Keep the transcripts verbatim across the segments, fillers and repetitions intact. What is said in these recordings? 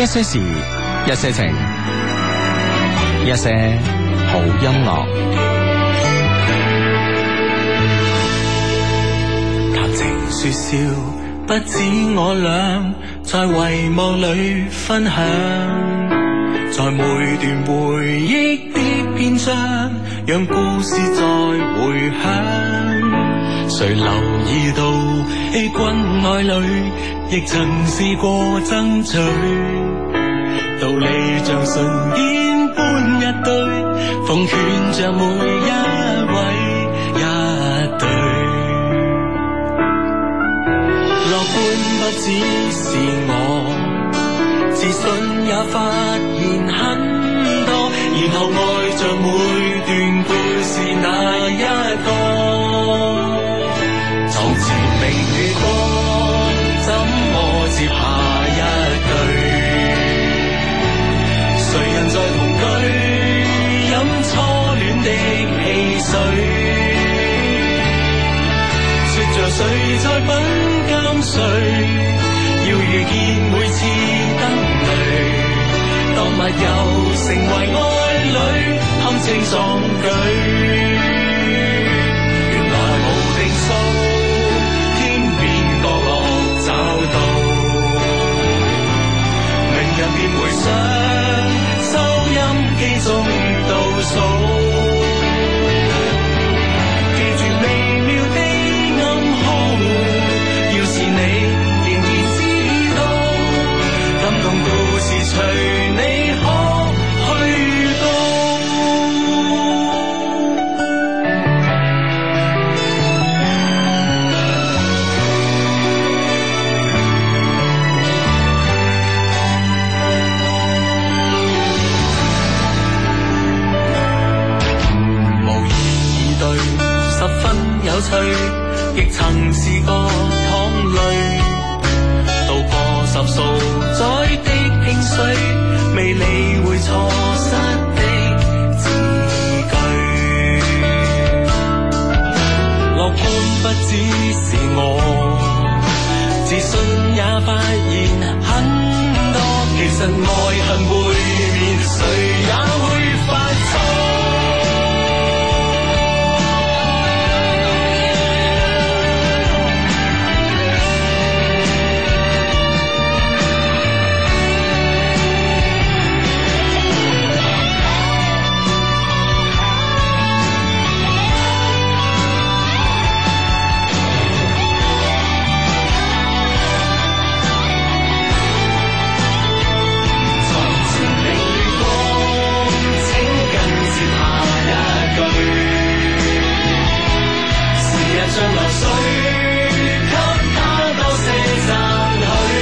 一些事，一些情，一些好音樂。 談情說笑，不止我倆，在遺忘裏分享，在每段回憶的篇章，讓故事再回響。誰留意到欺君愛侶，亦曾試過爭取，道理像唇煙般一堆，奉勸着每一位一對。樂觀不只是我，自信也發現很多，然後愛着每段故事那一個。床前明月光，怎麼接下一句？誰人在同居，飲初戀的汽水？說着誰在品鑑誰？要遇見每次燈淚，當密友成為愛侶，堪稱壯舉。原來無定數，天邊角落找到，明日便回想，收音機中倒數，記住微妙的暗號，要是你仍然知道，感動故事隨你可去到。十分有趣，亦曾試過淌淚，渡過十數載的興衰，未理會錯失的字句。樂觀不只是我，自信也發現很多，其實愛恨背面，誰也會犯錯。像流水，給他多些讚許，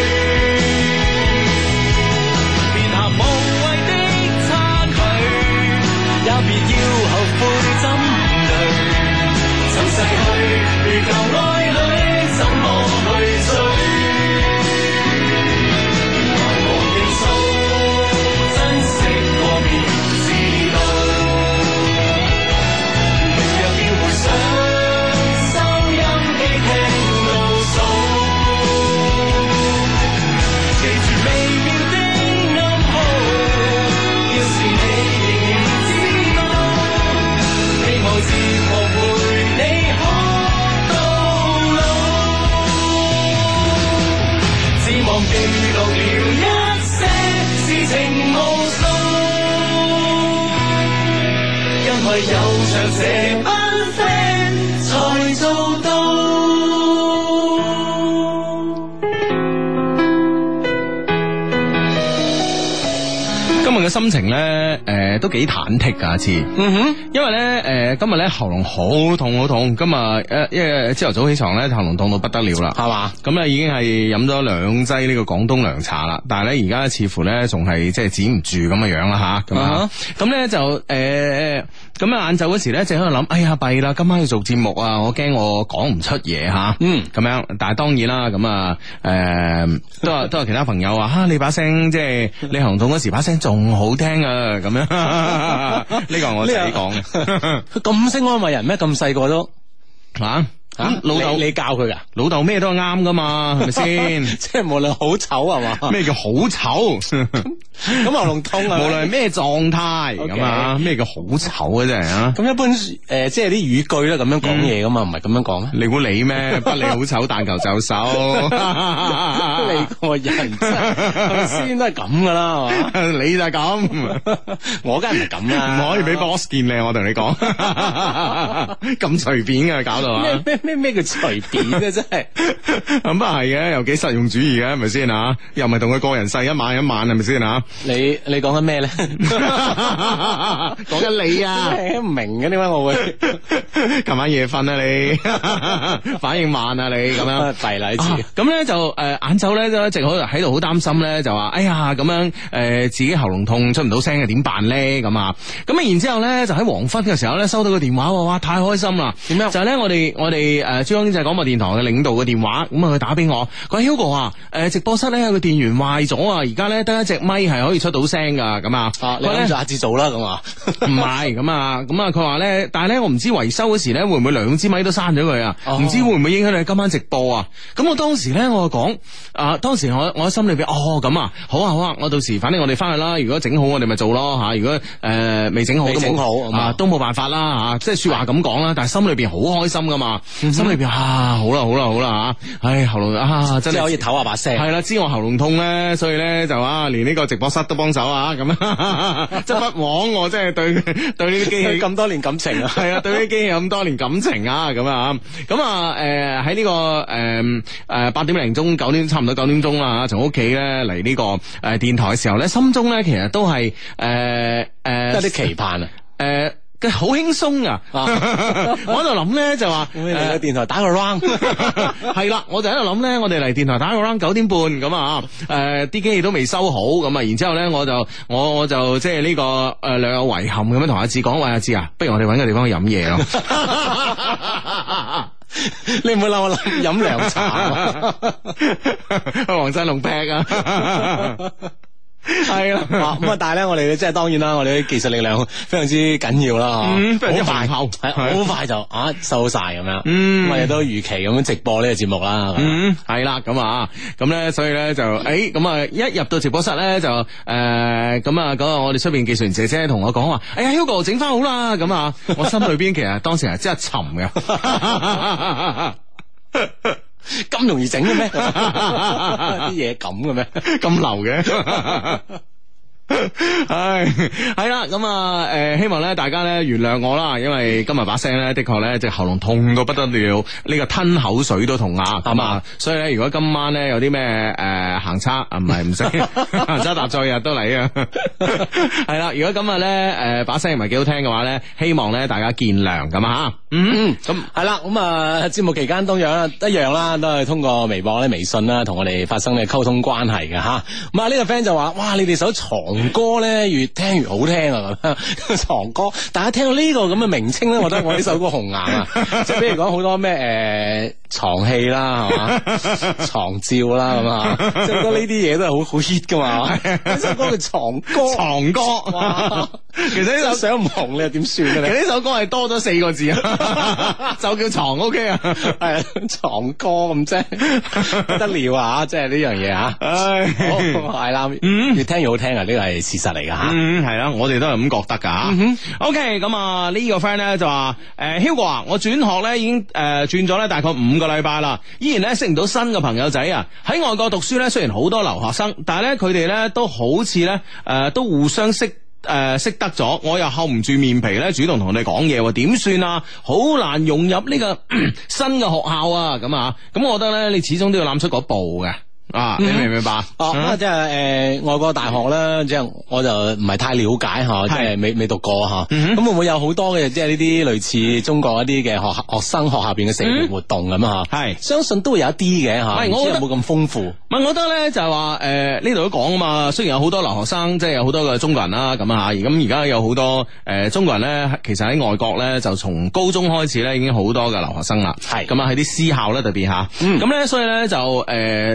別行無謂的差距，也別要後悔針對。曾逝去如舊愛侶，怎麼去追？原來無定數，珍惜過便知道，明日便回想。記錄了一些事情無數，因為有着這班 friend 才做到。 今日嘅心情咧，誒、呃，都幾忐忑噶，次，嗯哼，因為咧，誒、呃，今日咧喉嚨好痛好痛，今日誒，因為朝頭早起床咧，喉嚨痛到不得了啦，係嘛，咁咧已經係飲咗兩劑呢個廣東涼茶啦，但係咧而家似乎咧仲係即係止唔住咁嘅樣啦吓，咁啊，咁咧、uh huh. 就誒，咁啊晏晝嗰時咧，就喺度諗，哎呀弊啦，今晚要做節目啊，我驚我講唔出嘢吓，嗯，咁樣，但係當然啦，咁啊，誒，都係都係其他朋友話，吓、啊、你把聲即係你喉嚨痛嗰時把聲仲好聽啊，咁樣，呢個係我自己講嘅。 佢咁識安慰人咩？咁細個都啊， 吓老豆你教佢噶， 老豆咩都係啱噶嘛，係咪先？ 即係無論好醜係嘛？ 咩叫好醜？ 咁喉嚨痛啊？ 無論係咩狀態咁啊？咩叫好醜啊？真係啊！ 咁一般誒、呃，即係啲語句咧咁樣講嘢噶嘛，唔係咁樣講咩？ 你估你咩？不理好醜，但求就手。 你個人真先都係咁噶啦，係嘛？ 你就係咁， 我梗係唔係咁啦， 唔可以俾 boss 見你，我同你講，咁隨便嘅搞到啊！ 咩咩咩咩叫隨便嘅真係， 咁啊係嘅，又幾實用主義嘅，係咪先啊？又唔係同佢個人世一晚一晚，係咪先啊？ 你你講緊咩咧？ 講緊你啊！ 唔明嘅點解我會？ 琴晚夜瞓啊你，反應慢啊你咁樣， 弊啦呢次。 咁咧就誒晏晝咧就一直好喺度好擔心咧，就話哎呀咁樣誒自己喉嚨痛出唔到聲嘅點辦咧咁啊？咁啊然之後咧就喺黃昏嘅時候咧收到個電話，哇太開心啦！點樣？就係咧我哋我哋誒珠江經濟廣播電台嘅領導嘅電話，咁啊佢打俾我，佢話 Hugo 啊，誒直播室咧有個電源壞咗啊，而家咧得一隻咪係可以出到聲噶，咁啊， 你諗住下次做啦咁啊？ 唔係咁啊，咁啊佢話咧，但係咧我唔知維修嗰時咧會唔會兩支咪都刪咗佢啊？唔、哦、知會唔會影響你今晚直播啊？咁我當時咧我就講啊，當時我我喺心裏邊哦咁啊，好啊好啊，我到時反正我哋翻去啦，如果整好我哋咪做咯吓，如果誒未整好都整好啊都冇辦法啦吓，即係說話咁講啦，但係心裏邊好開心噶嘛，嗯、心裏邊啊好啦好啦好啦吓，唉喉嚨啊真係可以唞下把聲， 係啦，知我喉嚨痛咧，所以咧就啊連呢個直播室都幫手啊咁啊，即係不枉我即係對對呢啲機器咁多年感情啊， 係啊對呢啲機器咁多年感情啊咁啊咁啊誒喺呢個誒誒八點零鐘九點差唔多九點鐘啦，從屋企咧嚟呢個誒電台嘅時候咧，心中咧其實都係誒誒有啲期盼啊誒。 呃好輕鬆啊！我喺度諗咧就話， 嚟個電台打個 round， 係啦，我就喺度諗咧，我哋嚟電台打個 round 九點半咁啊，誒啲機器都未收好咁啊，然之後咧我就我我就即係呢個誒略有遺憾咁樣同阿志講，喂阿志啊，不如我哋搵個地方去飲嘢咯。 你唔會諗我諗飲涼茶， 去黃振龍劈啊！係啦， 咁啊，但係咧，我哋即係當然啦，我哋啲技術力量非常之緊要啦， 嗯，非常之快， 厚， 係好快就啊收晒咁樣， 嗯， 我哋都如期咁樣直播呢個節目啦， 嗯，係啦，咁啊，咁咧，所以咧就誒，咁啊，一入到直播室咧就誒，咁啊，嗰個我哋出邊技術員姐姐同我講話，哎呀 Hugo 整翻好啦，咁啊，我心裏邊其實當時係真係沉嘅。 咁容易整嘅咩？啲嘢咁嘅咩？ 咁流嘅？唉，係啦，咁啊，誒，希望咧大家咧原諒我啦，因為今日把聲咧的確咧隻喉嚨痛到不得了，呢、這個吞口水都痛啊，咁啊，所以咧如果今晚咧有啲咩誒行差啊，唔係唔識行差踏錯日都嚟啊，係啦，如果今日咧誒把聲唔係幾好聽嘅話咧，希望咧大家見諒咁啊吓，嗯，咁係啦，咁啊節目期間當然一樣啦，都係通過微博咧、微信啦，同我哋發生嘅溝通關係嘅吓，咁啊呢個 friend 就話，哇，你哋首床歌咧越聽越好聽啊！咁樣床歌，大家聽到呢個咁嘅名稱咧，我覺得我呢首歌紅眼啊！即係比如講好多咩誒、呃、床戲啦，係嘛床照啦咁啊，即係覺得呢啲嘢都係好好 hit 噶嘛！呢首歌叫床歌，床歌哇！其實呢首想唔紅你又點算嘅咧？其實呢首歌係多咗四個字啊，就叫床 OK 啊，係床歌咁啫，不得了啊！即係呢樣嘢啊，唉，係啦，嗯，越聽越好聽啊！呢個係事實嚟噶吓，嗯，係啦，我哋都係咁覺得噶吓。嗯、OK，咁啊呢個 friend 咧就話，誒 Hugo 啊，我轉學咧已經誒轉咗咧大概五個禮拜啦，依然咧識唔到新嘅朋友仔啊。喺外國讀書咧，雖然好多留學生，但係咧佢哋咧都好似咧誒都互相識。誒、呃，識得咗，我又厚唔住面皮咧，主動同你講嘢，點算啊？好難融入呢個新嘅學校啊！咁啊，咁我覺得咧，你始終都要攬出嗰步嘅。啊，你明唔明白？哦，咁啊，即係誒，外國大學啦，即係我就唔係太了解吓，即係未未讀過吓。咁會唔會有好多嘅即係呢啲類似中國一啲嘅學學生學校邊嘅社團活動咁啊？吓，係相信都會有一啲嘅吓，唔知有冇咁豐富。唔係，我覺得咧就係話誒呢度都講啊嘛。雖然有好多留學生，即係有好多嘅中國人啦，咁啊吓。咁而家有好多誒中國人咧，其實喺外國咧就從高中開始咧已經好多嘅留學生啦。係咁啊，喺啲私校咧特別吓。咁咧，所以咧就誒，所以咧。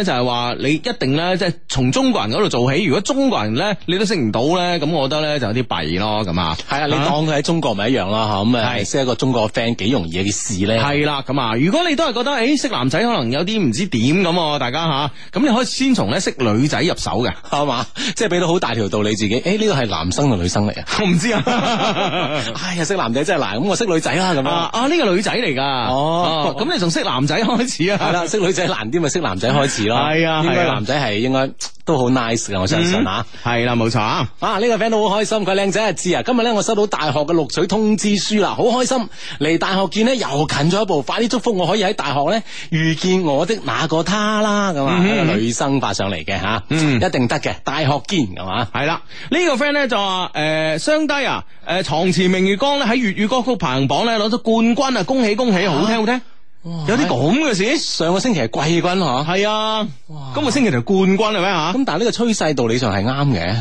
就係話你一定咧即係從中國人嗰度做起，如果中國人咧你都識唔到咧，咁我覺得咧就有啲弊咯，咁啊， 係啊，你當佢喺中國咪一樣啦吓，咁啊識一個中國嘅 friend 幾容易嘅事咧， 係啦，咁啊，如果你都係覺得誒識男仔可能有啲唔知點咁，大家吓，咁你可以先從咧識女仔入手嘅， 係嘛，即係俾到好大條道理自己，誒呢個係男生定女生嚟啊？ 我唔知啊， 哎呀識男仔真係難，咁我識女仔啦咁啊， 啊呢個女仔嚟噶，哦，咁你從識男仔開始啊？係啦， 識女仔難啲咪識男仔開始咯， 係啊， 應該男仔係應該都好 nice 嘅，我相信吓， 係啦冇錯啊， 啊呢個 friend 都好開心，佢靚仔啊知啊，今日咧我收到大學嘅錄取通知書啦，好開心，離大學見呢又近咗一步，快啲祝福我可以喺大學咧遇見我的那個他啦，咁啊，一個女生發上嚟嘅吓，嗯，一定得嘅，大學見係嘛， 係啦，呢個 friend 咧就話誒雙低啊，誒床前明月光咧喺粵語歌曲排行榜咧攞咗冠軍啊，恭喜恭喜，好聽好聽。有啲咁嘅事， 上個星期係季軍嗬， 係啊，今個星期就冠軍係咩吓？ 咁但係呢個趨勢道理上係啱嘅，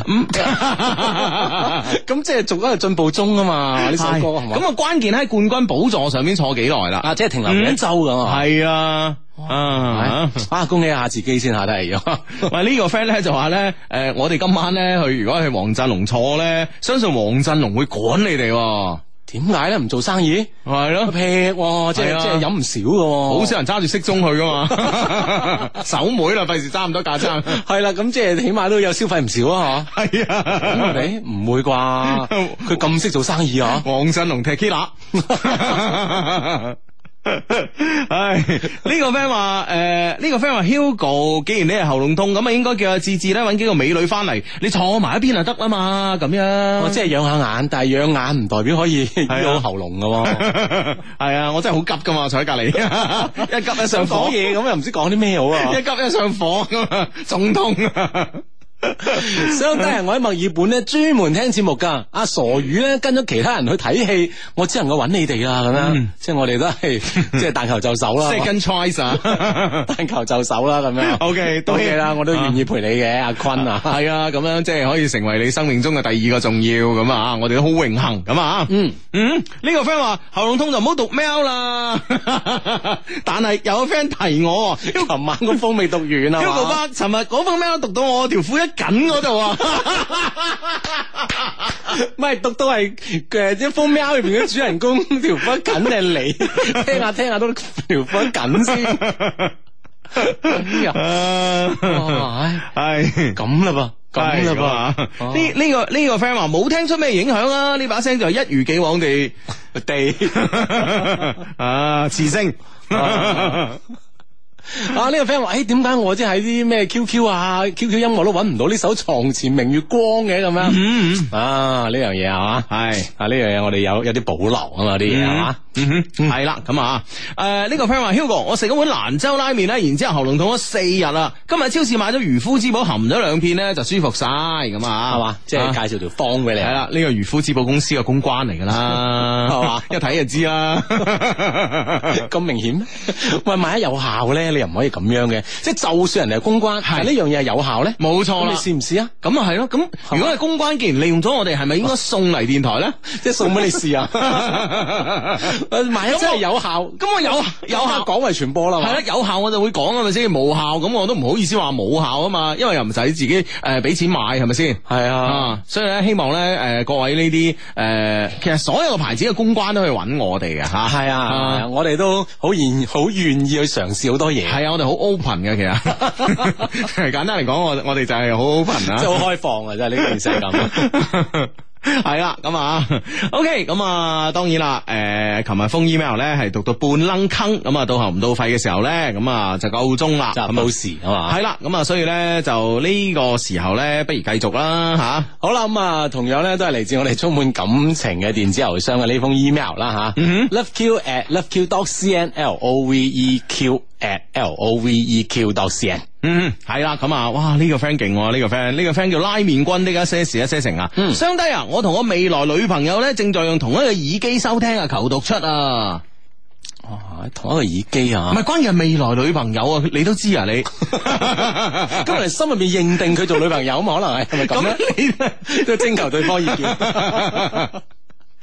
咁即係逐一個進步中啊嘛，呢首歌係嘛？咁啊關鍵喺冠軍寶座上面坐幾耐啦？ 啊，即係停留一周咁啊？ 係啊，啊啊，恭喜下自己先下得嚟咗。 喂，呢個 friend 咧就話咧，誒，我哋今晚咧去，如果去黃振龍坐咧，相信黃振龍會趕你哋。 點解咧？唔做生意係咯， 劈喎，即係即係飲唔少嘅， 好少人揸住骰盅去噶嘛，手妹啦，費事揸咁多架撐。 係啦，咁即係起碼都有消費唔少啊，吓。係啊，你唔會啩？佢咁識做生意啊？ 黃振龍踢 Killer。唉，呢、這個 friend 話誒，呢、這個 friend 話 Hugo， 既然你係喉嚨痛，咁啊應該叫阿志志咧搵幾個美女翻嚟，你坐埋一邊就得啦嘛，咁樣。 我即係養下眼，但係養眼唔代表可以醫好喉嚨噶。 係啊，我真係好急噶嘛，坐喺隔籬，一急一上火嘢，咁又唔知講啲咩好啊， 一急一上火咁啊，仲痛啊！ 相低人，我喺墨爾本咧專門聽節目噶，阿傻魚咧跟咗其他人去睇戲，我只能夠揾你哋啦，咁樣，嗯、即係我哋都係即係但求就手啦 ，second choice 啊， 但求就手啦，咁樣，OK，都 OK 啦，我都願意陪你嘅，阿坤啊， 係啊，咁樣即係可以成為你生命中嘅第二個重要咁啊，我哋都好榮幸咁啊，嗯嗯，呢、這個 friend 話喉嚨痛就唔好讀 mail 啦，但係有個 friend 提我， 琴晚個封未讀完啊 ，Hugo 爸，尋日嗰封 mail 讀到我條褲一緊嗰度啊， 唔係讀到係誒一封 mail 入邊嘅主人公條褲緊係你，聽下聽下都條褲緊先，係咁啦噃，咁啦噃，呢呢個呢個 friend 話冇聽出咩影響啊，呢把聲就一如既往地地啊磁性。啊！呢、這個 friend 話，誒，點解我即係喺啲咩 Q Q 啊、Q Q 音樂都揾唔到呢首《床前明月光》嘅咁樣？嗯嗯啊，呢樣嘢係嘛？係啊，呢樣嘢我哋有有啲保留啊嘛，啲嘢係嘛？嗯哼，係啦，咁啊，誒，呢個 friend 話 Hugo， 我食咗碗蘭州拉麵咧，然之後喉嚨痛咗四日啦，今日超市買咗漁夫之寶，含咗兩片咧就舒服晒，咁啊，係嘛？即係介紹條方俾你。係啦，呢個漁夫之寶公司嘅公關嚟噶啦，係嘛？一睇就知啦，咁明顯？喂，萬一有效咧？你又唔可以咁樣嘅，即係就算人哋係公關，係呢樣嘢係有效咧，冇錯啦。你試唔試啊？咁啊係咯，咁如果係公關，既然利用咗我哋，係咪應該送嚟電台咧？即係送俾你試啊？萬一真係有效，咁我有有效廣為傳播啦。係啦，有效我就會講啊，咪先？冇效咁我都唔好意思話冇效啊嘛，因為又唔使自己誒俾錢買，係咪先？係啊，所以咧希望咧誒各位呢啲誒，其實所有嘅牌子嘅公關都可以揾我哋嘅吓。係啊，我哋都好願好願意去嘗試好多嘢。係啊，我哋好 open 嘅，其實簡單嚟講，我我哋就係好 open 啊，即係好開放啊，真係呢件事係咁。係啦，咁啊 ，OK，咁啊，當然啦，誒、呃，琴日封 email 咧係讀到半愣坑，咁啊，到喉唔到肺嘅時候咧，咁啊就夠鐘啦，就冇事啊嘛，係啦，咁啊，所以咧就呢個時候咧，不如繼續啦，吓、啊，好啦，咁啊，同樣咧都係嚟自我哋充滿感情嘅電子郵箱嘅呢封 email 啦，吓、嗯、，loveq at loveq dot cn，l o v e q at l o v e q dot cn。嗯，係啦，咁啊，哇，呢、這個 friend 勁，呢、這個 friend 呢個 friend 叫拉麵君，呢家一些事一些情啊，嗯，相低啊，我同我未來女朋友咧正在用同一個耳機收聽啊，求讀出啊，哇，同一個耳機啊，唔係關鍵係未來女朋友啊，你都知啊，你，咁我哋心入邊認定佢做女朋友嘛，可能係係咪咁咧？你都徵求對方意見。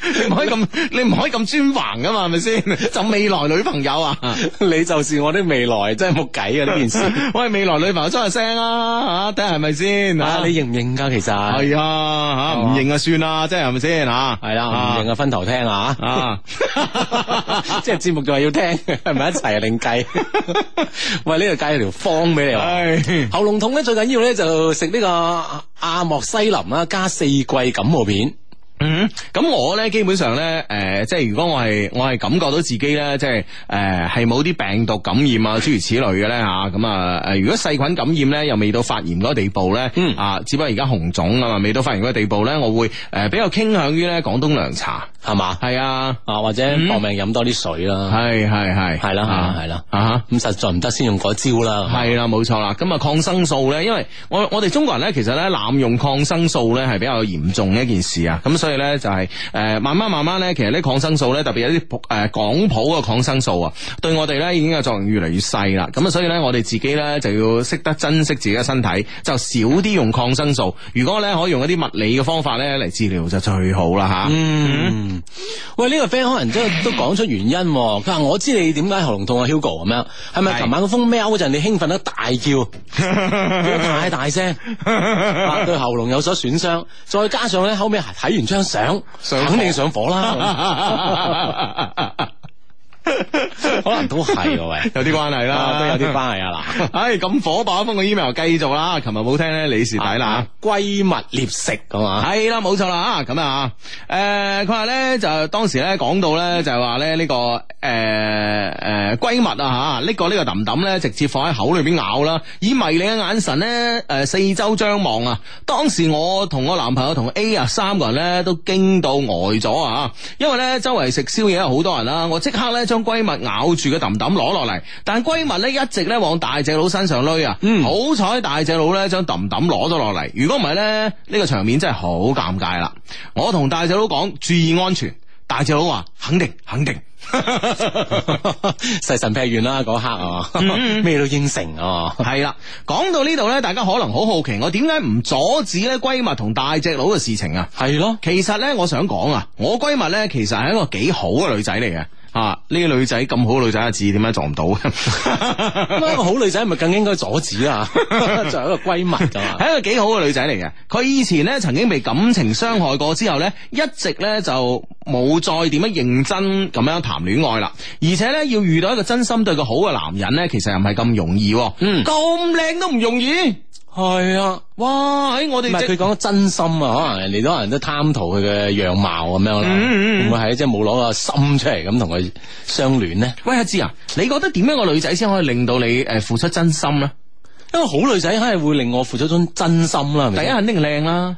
你唔可以咁，你唔可以咁專橫噶嘛，係咪先？就未來女朋友啊， 你就是我的未來，真係冇計啊！呢件事， 喂，未來女朋友出下聲啊，吓睇下係咪先？ 啊，你認唔認噶？其實係啊，吓唔認啊算啦，即係係咪先吓？ 係啦，唔認啊分頭聽啊，啊，即係節目就係要聽，係咪一齊另計？喂，呢度計條方俾你話，喉嚨痛咧最緊要咧就食呢個阿莫西林啦，加四季感冒片。 嗯，咁我咧基本上咧，誒、呃，即係如果我係我係感覺到自己咧，即係誒係冇啲病毒感染啊，諸如此類嘅咧吓，咁啊，誒、呃，如果細菌感染咧，又未到發炎嗰個地步咧，嗯啊，只不過而家紅腫啊嘛，未到發炎嗰個地步咧，我會誒、呃、比較傾向於咧廣東涼茶，係嘛，係啊，啊或者搏命飲多啲水啦，係係係係啦係啦啊，咁實在唔得先用嗰招啦，係啦冇錯啦，咁啊抗生素咧，因為我我哋中國人咧其實咧濫用抗生素咧係比較嚴重嘅一件事啊，咁所以咧就係、是、誒、呃、慢慢慢慢咧，其實啲抗生素咧，特別有啲誒、呃、廣譜嘅抗生素啊，對我哋咧已經嘅作用越嚟越細啦。咁啊，所以咧我哋自己咧就要識得珍惜自己嘅身體，就少啲用抗生素。如果咧可以用一啲物理嘅方法咧嚟治療就最好啦吓。嗯，喂，呢、這個 friend 可能真係都講出原因，佢話我知你點解喉嚨痛啊 Hugo 咁樣，係咪琴晚個風喵嗰陣你興奮得大叫，叫太大聲，對喉嚨有所損傷，再加上咧後尾睇完張相，肯定上火啦。可能都係喂，有啲關係啦，都有啲關係啊嗱。唉，咁火爆一封嘅 email 繼續啦。琴日冇聽咧，李氏睇啦。閨蜜獵食咁嘛，係啦，冇錯啦。咁啊，誒，佢話咧就當時咧講到咧就係話咧呢個誒誒閨蜜啊吓，呢個呢個揼揼咧直接放喺口裏邊咬啦，以迷你嘅眼神咧誒四周張望啊。當時我同我男朋友同 A 啊三個人咧都驚到呆咗啊，因為咧周圍食宵夜有好多人啦，我即刻咧將閨蜜咬住嘅揼揼攞落嚟，但閨蜜咧一直咧往大隻佬身上攏啊，嗯、好彩大隻佬咧將揼揼攞咗落嚟，如果唔係咧呢、呢個場面真係好尷尬啦。我同大隻佬講注意安全，大隻佬話肯定肯定，細神劈完啦嗰刻啊，咩、嗯、都應承啊。係啦，講到呢度咧，大家可能好好奇我點解唔阻止咧閨蜜同大隻佬嘅事情啊？係咯，其實咧我想講啊，我閨蜜咧其實係一個幾好嘅女仔嚟嘅。啊！呢個女仔咁好女仔嘅字點解撞唔到？咁一個好女仔咪更應該阻止啊！作為一個閨蜜噶嘛，係一個幾好嘅女仔嚟嘅。佢以前咧曾經被感情傷害過之後咧，一直咧就冇再點樣認真咁樣談戀愛啦。而且咧要遇到一個真心對佢好嘅男人咧，其實又唔係咁容易。嗯，咁靚都唔容易。係啊，哇！喺我哋唔係佢講真心啊，可能人哋多人都貪圖佢嘅樣貌咁樣啦，會唔會係即係冇攞個心出嚟咁同佢相戀呢？喂，阿芝啊，你覺得點樣個女仔先可以令到你誒付出真心呢？一個好女仔肯定會令我付出種真心啦，係咪？第一肯定靚啦。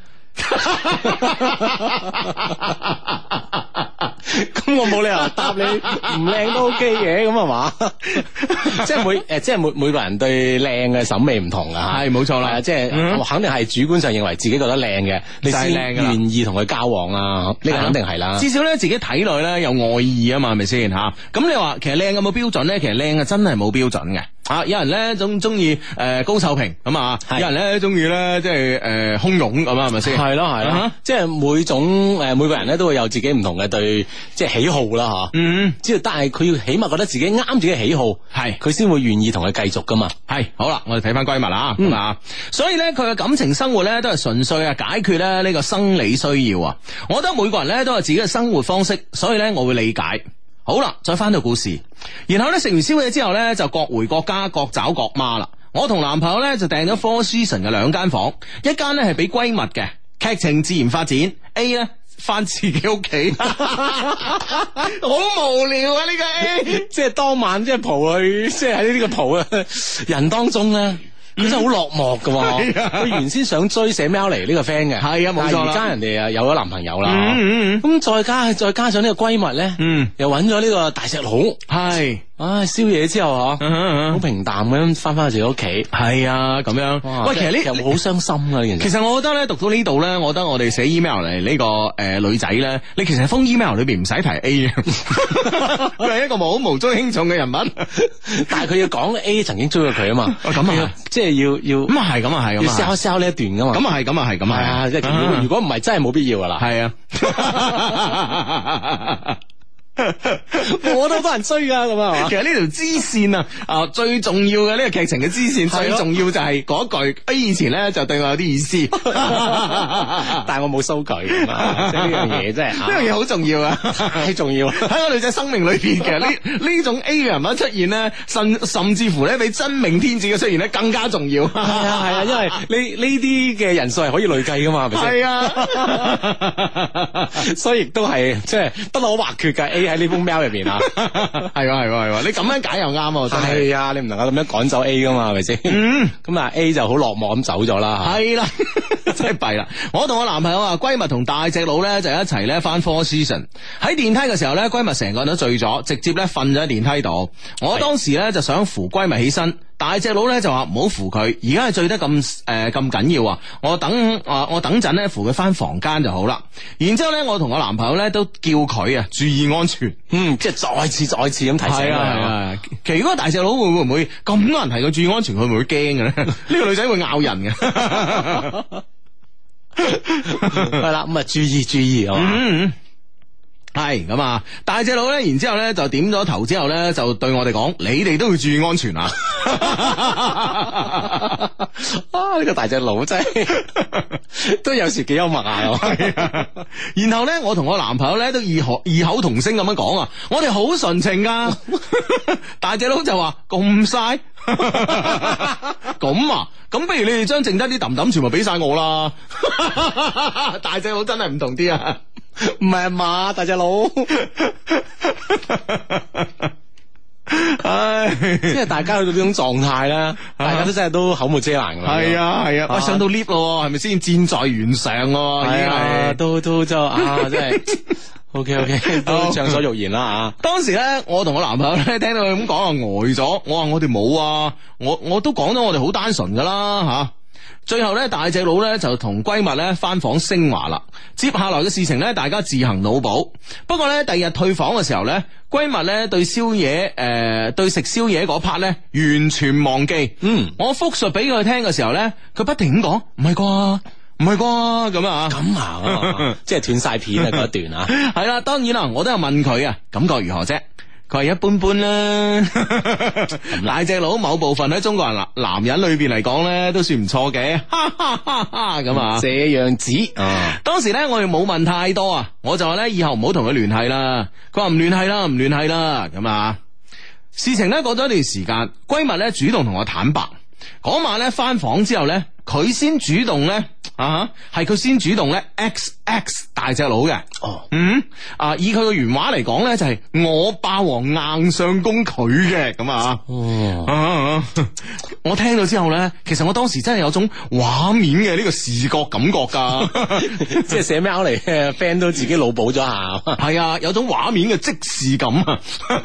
咁我冇理由答你唔靚都 OK 嘅，咁係嘛？即係每誒，即係每每個人對靚嘅審美唔同噶，係冇錯啦。即係、嗯、肯定係主觀上認為自己覺得靚嘅，你先願意同佢交往啊。呢個肯定係啦。至少咧，自己體內咧有愛意啊嘛，係咪先吓？咁你話其實靚有冇標準咧？其實靚啊真係冇標準嘅。啊！有人咧中中意誒高臭平咁啊，有人咧中意咧即係誒胸湧咁啊，係咪先？係咯係咯，即係每種誒每個人咧都會有自己唔同嘅對即係喜好啦吓。嗯，只要但係佢要起碼覺得自己啱自己喜好，係佢先會願意同佢繼續噶嘛。係好啦，我哋睇翻閨蜜啦，咁啊，所以咧佢嘅感情生活咧都係純粹啊解決咧呢個生理需要啊。我覺得每個人咧都有自己嘅生活方式，所以咧我會理解。好啦，再翻到故事，然後咧食完宵夜之後咧就各回各家，各找各媽啦。我同男朋友咧就訂咗 Four Seasons 嘅兩間房，一間咧係俾閨蜜嘅，劇情自然發展。A 咧翻自己屋企，好無聊啊！呢個 A 即係當晚即係蒲去，即係喺呢個蒲嘅人當中咧。佢真係好落寞噶，佢原先想追寫 mail 嚟呢個 friend 嘅，係啊冇錯啦。而家人哋啊有咗男朋友啦，咁再加再加上呢個閨蜜咧，又揾咗呢個大隻佬，係唉，宵夜之後嗬，好平淡咁翻翻去自己屋企。 係啊，咁樣。喂，其實呢又好傷心啊！呢件事。 其實我覺得咧，讀到呢度咧，我覺得我哋寫 email 嚟呢個誒女仔咧，你其實封 email 裏邊唔使提 A 嘅，佢係一個冇無足輕重嘅人物， 但係佢要講 A 曾經追過佢啊嘛。 咁啊， 即係要要咁啊係，咁啊係， 要 sell sell 呢一段噶嘛。 咁啊係，咁啊係，咁啊， 即係如果唔係真係冇必要噶啦。 係啊。 我都多人追噶咁啊， 其實呢條支線啊，啊最重要嘅呢個劇情嘅支線，最重要就係嗰句 A 以前咧就對我有啲意思， 但係我冇收佢，即係呢樣嘢真係呢樣嘢好重要啊， 太重要喺個女仔生命裏邊嘅呢呢種 A 嘅人物出現咧，甚甚至乎咧比真命天子嘅出現咧更加重要。係啊係啊，因為呢呢啲嘅人數係可以累計噶嘛，係咪先？ 係啊， 所以亦都係即係不可或缺嘅 A。喺呢封 mail 入邊啊， 係喎係喎係喎，你咁樣解又啱啊，真係啊，你唔能夠咁樣趕走 A 噶嘛，係咪先？嗯，咁啊 A 就好落寞咁走咗啦， 係啦，真係弊啦。我同我男朋友啊，閨蜜同大隻佬咧就一齊咧翻 Four Seasons，喺電梯嘅時候咧，閨蜜成個人都醉咗，直接咧瞓咗喺電梯度。我當時咧就想扶閨蜜起身。大隻佬咧就話唔好扶佢，而家係醉得咁誒咁緊要啊！我等啊、呃、我等陣咧扶佢翻房間就好啦。然之後咧，我同我男朋友咧都叫佢啊注意安全。 嗯，即係再次再次咁提醒佢。係啊係啊。 其實如果大隻佬會會唔會咁多人提佢注意安全，佢會唔會驚嘅咧？呢個女仔會咬人嘅。 係啦，咁啊注意注意啊。 嗯係咁啊！大隻佬咧，然之後咧就點咗頭之後咧，就對我哋講：你哋都要注意安全啊！ 啊，呢個大隻佬真係都有時幾幽默啊！ 然後咧，我同我男朋友咧都異口異口同聲咁樣講啊：我哋好純情噶。大隻佬就話：咁嘥？咁啊？咁不如你哋將剩得啲抌抌全部俾晒我啦！大隻佬真係唔同啲啊！ 唔係啊嘛，大隻佬，唉，即係大家去到呢種狀態啦，大家都真係都口無遮攔噶啦。 係啊係啊，喂，上到 lift 咯，係咪先？箭在弦上咯，已經係都都就啊，真係 OK OK， 都暢所欲言啦啊！ 當時咧，我同我男朋友咧聽到佢咁講啊，呆咗。我話我哋冇啊，我我都講咗我哋好單純噶啦吓。最後咧，大隻佬咧就同閨蜜咧翻房升華啦。接下來嘅事情咧，大家自行腦補。不過咧，第二日退房嘅時候咧，閨蜜咧對宵夜誒、呃，對食宵夜嗰 part 咧完全忘記。嗯，我複述俾佢聽嘅時候咧，佢不停咁講，唔係啩，唔係啩，咁啊， 咁啊，即係斷晒片啊嗰一段啊。 係啦，當然啦，我都有問佢啊，感覺如何啫？佢係一般般啦。大隻佬某部分喺中國人男男人裏邊嚟講咧，都算唔錯嘅。哈哈哈哈咁啊， 這樣子。啊， 當時咧我哋冇問太多啊，我就話咧以後唔好同佢聯繫啦。佢話唔聯繫啦，唔聯繫啦。咁啊，事情咧過咗一段時間，閨蜜咧主動同我坦白，嗰晚咧翻房之後咧，佢先主動咧啊，係佢先主動咧 X X 大隻佬嘅。哦，嗯啊，以佢嘅原話嚟講咧，就係、是、我霸王硬上弓佢嘅咁啊。哦，啊啊、我聽到之後咧，其實我當時真係有種畫面嘅呢個視覺感覺噶， 即係寫 mail 嚟嘅 friend 都自己腦補咗下。 係啊，有種畫面嘅即視感啊。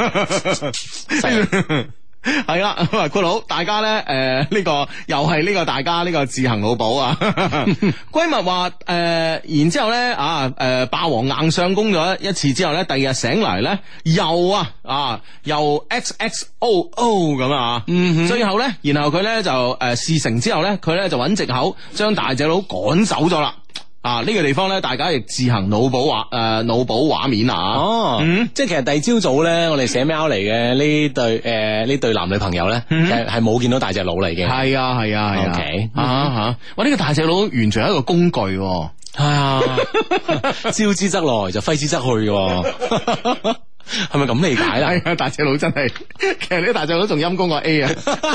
係啦，括佬大家咧，誒、呃、呢、這個又係呢個大家呢個自行腦補啊。閨蜜話誒，然之後咧啊，誒、呃、霸王硬上弓咗一次之後咧，第二日醒嚟咧又啊啊又 X X O O 咁啊，嗯哼，最後咧，然後佢咧就誒、呃、事成之後咧，佢咧就揾藉口將大隻佬趕走咗啦。啊！呢、這個地方咧，大家亦自行腦補畫誒，腦補畫面啊！哦，嗯， 即係其實第二朝早咧，我哋寫 mail 嚟嘅呢對誒呢、呃、對男女朋友咧，嗯、其實係冇見到大隻佬嚟嘅。 係啊係啊係啊，OK 啊吓！哇，呢個大隻佬完全係一個工具，係啊，招之則來就揮之則去嘅，係咪咁理解啦？ 係啊，大隻佬真係，其實呢個大隻佬仲陰功過 A 啊！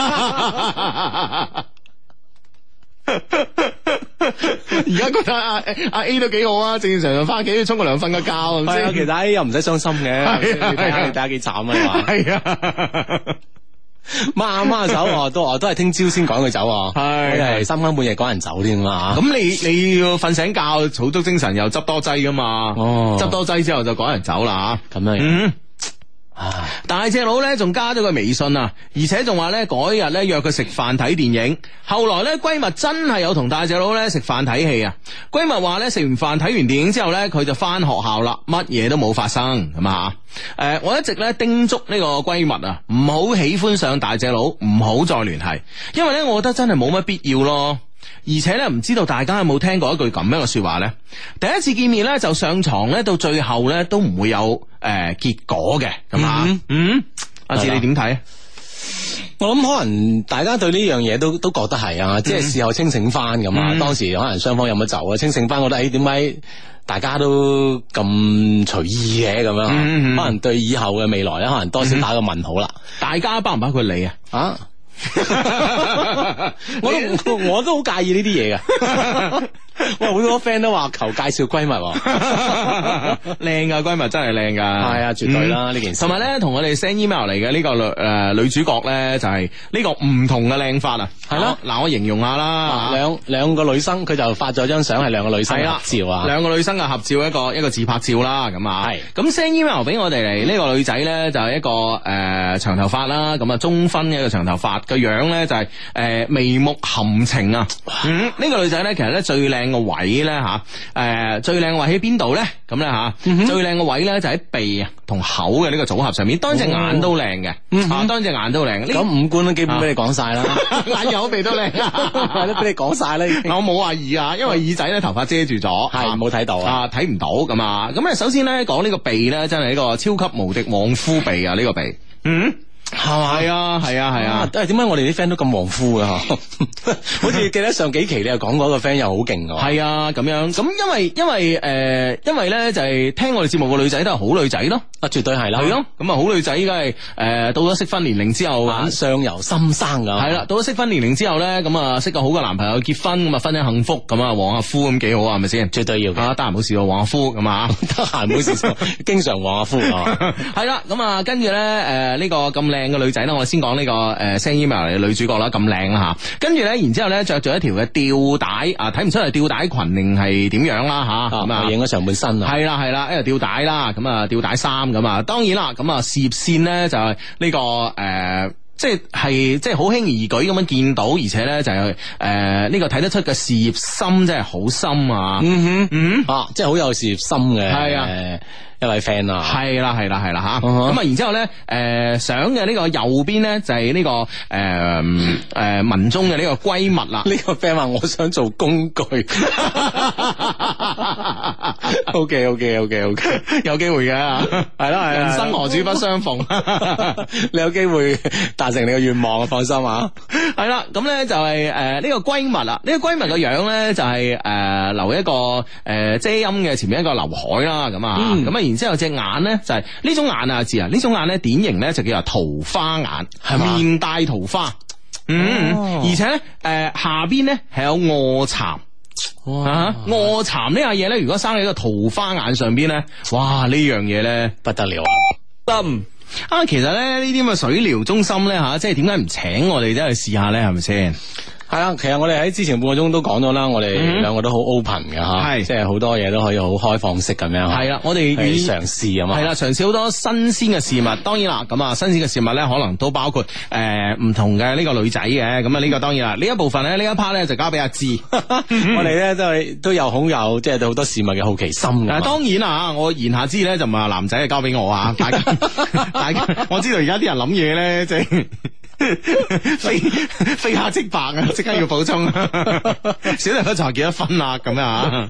而家覺得阿阿 A 都幾好啊，正正常常翻屋企沖個涼瞓個覺， 係啊，其實 A 又唔使傷心嘅，你睇下你睇下幾慘啊，你話係啊，掹掹手哦，都都係聽朝先趕佢走，係係三更半夜趕人走添啊， 咁你你要瞓醒覺，儲足精神又執多劑噶嘛，哦，執多劑之後就趕人走啦，咁樣。嗯大隻佬咧仲加咗個微信啊，而且仲話咧嗰日咧約佢食飯睇電影。後來咧閨蜜真係有同大隻佬咧食飯睇戲啊。閨蜜話咧食完飯睇完電影之後咧，佢就翻學校啦，乜嘢都冇發生咁啊。誒、呃，我一直咧叮囑呢個閨蜜啊，唔好喜歡上大隻佬，唔好再聯繫，因為咧我覺得真係冇乜必要咯。而且咧，唔知道大家有冇聽過一句咁樣嘅說話呢？第一次見面咧就上床咧，到最後咧都唔會有誒、呃、結果嘅，咁啊，嗯，嗯，阿志你點睇？ 我諗可能大家對呢樣嘢都都覺得係啊，即係事後清醒翻咁啊。嗯、當時可能雙方有乜走啊，清醒翻覺得誒，點解大家都咁隨意嘅咁樣？嗯嗯、可能對以後嘅未來咧，可能多少打個問號啦。 大家包唔包括你啊？啊？ 我都我都好介意呢啲嘢噶，喂，好多 friend 都話求介紹閨蜜， 靚噶閨蜜真係靚噶， 係啊，絕對啦呢、嗯、件事。 同埋咧，同我哋 send email 嚟嘅呢個女誒、呃、女主角咧，就係、是、呢個唔同嘅靚法啊，係咯。嗱，我形容下啦， 兩兩個女生，佢就發咗張相係兩個女生嘅合照啊， 兩個女生嘅合照，一個一個自拍照啦，咁啊，係咁 send email 俾我哋嚟呢個女仔咧，就係、是、一個誒、呃、長頭髮啦，咁啊中分嘅一個長頭髮。個樣咧就係、是、誒、呃、眉目含情啊，嗯，呢、這個女仔咧其實咧最靚個位咧吓，誒最靚個位喺邊度咧？咁咧吓，最靚個位咧就喺鼻啊同口嘅呢個組合上面，當然隻眼都靚嘅，嗯、啊，當然隻眼都靚。 咁五官都基本俾你講晒啦， 眼有鼻都靚， 都俾你講晒啦。 我冇話耳啊，因為耳仔咧頭髮遮住咗， 係冇睇到啊， 睇唔到咁啊。咁咧首先咧講呢個鼻咧，真係一個超級無敵旺夫鼻啊！呢、這個鼻，嗯。係嘛？係啊，係啊，係啊！ 誒，點解我哋啲 friend 都咁旺夫嘅嗬？好似記得上幾期你又講嗰個 friend 又好勁嘅。 係啊，咁樣咁，因為因為誒、呃，因為咧就係、是、聽我哋節目嘅女仔都係好女仔咯。啊，絕對係啦。係咯，咁啊好女仔，梗係誒到咗適婚年齡之後， 啊、相由心生噶。 係啦，到咗適婚年齡之後咧，咁啊識個好嘅男朋友結婚，咁啊婚姻幸福，咁啊旺下夫咁幾好啊，係咪先？絕對要嘅。啊，得閒冇事喎，旺下夫咁啊， 得閒冇事經常旺下夫啊。 係啦，咁啊跟住咧誒呢個咁靚嘅女仔咧，我先講呢個誒 send email 嚟嘅女主角啦，咁靚啦吓，跟住咧，然之後咧着住一條嘅吊帶啊，睇唔出係吊帶裙定係點樣啦吓，咁啊影咗上半身啊， 係啦係啦，一條吊帶啦，咁啊吊帶衫咁啊，當然啦，咁啊事業線咧就係呢個誒，即係係即係好輕而易舉咁樣見到，而且咧就係誒呢個睇得出嘅事業心真係好深啊，嗯哼嗯啊， 即係好有事業心嘅，係啊。一位 friend 啊， 係啦係啦係啦吓，咁啊，然之後咧，誒、呃，相嘅呢個右邊咧就係、是、呢、這個誒誒、呃、文中嘅呢個閨蜜啦。 呢個 friend 話我想做工具，OK OK OK OK， 有機會嘅，係啦係，人生何處不相逢， 你有機會達成你嘅願望啊，放心啊。 係啦，咁咧就係誒呢個閨蜜啦，呢、這個閨蜜嘅樣咧就係、是、誒、呃、留一個誒、呃、遮陰嘅前面一個劉海啦，咁啊，咁啊、嗯。然之後隻眼咧就係、是、呢種眼啊，字啊，呢種眼咧典型咧就叫做桃花眼，係嘛？面帶桃花，嗯，哦、而且咧誒、呃、下邊咧係有臥蠶，哇！臥蠶呢樣嘢咧，如果生喺個桃花眼上邊咧，哇！呢樣嘢咧不得了啊！心啊，其實咧呢啲咁嘅水療中心咧吓、啊，即係點解唔請我哋真係試下咧？係咪先？ 係啊，其實我哋喺之前半個鐘都講咗啦，我哋兩個都好 open 嘅吓，係、嗯、即係好多嘢都可以好開放式咁樣。係啦，我哋願意嘗試啊嘛。係啦，嘗試好多新鮮嘅事物。當然啦，咁啊，新鮮嘅事物咧，可能都包括誒唔、呃、同嘅呢個女仔嘅。咁啊，呢個當然啦，呢一部分咧，呢一 part 咧就交俾阿志。我哋咧都係都有好有即係對好多事物嘅好奇心嘅。當然啦，我言下之意咧就唔係話男仔係交俾我啊，大家大家，我知道而家啲人諗嘢咧即係。非非黑即白啊！即刻要補充，小弟不才幾多分啊？咁啊！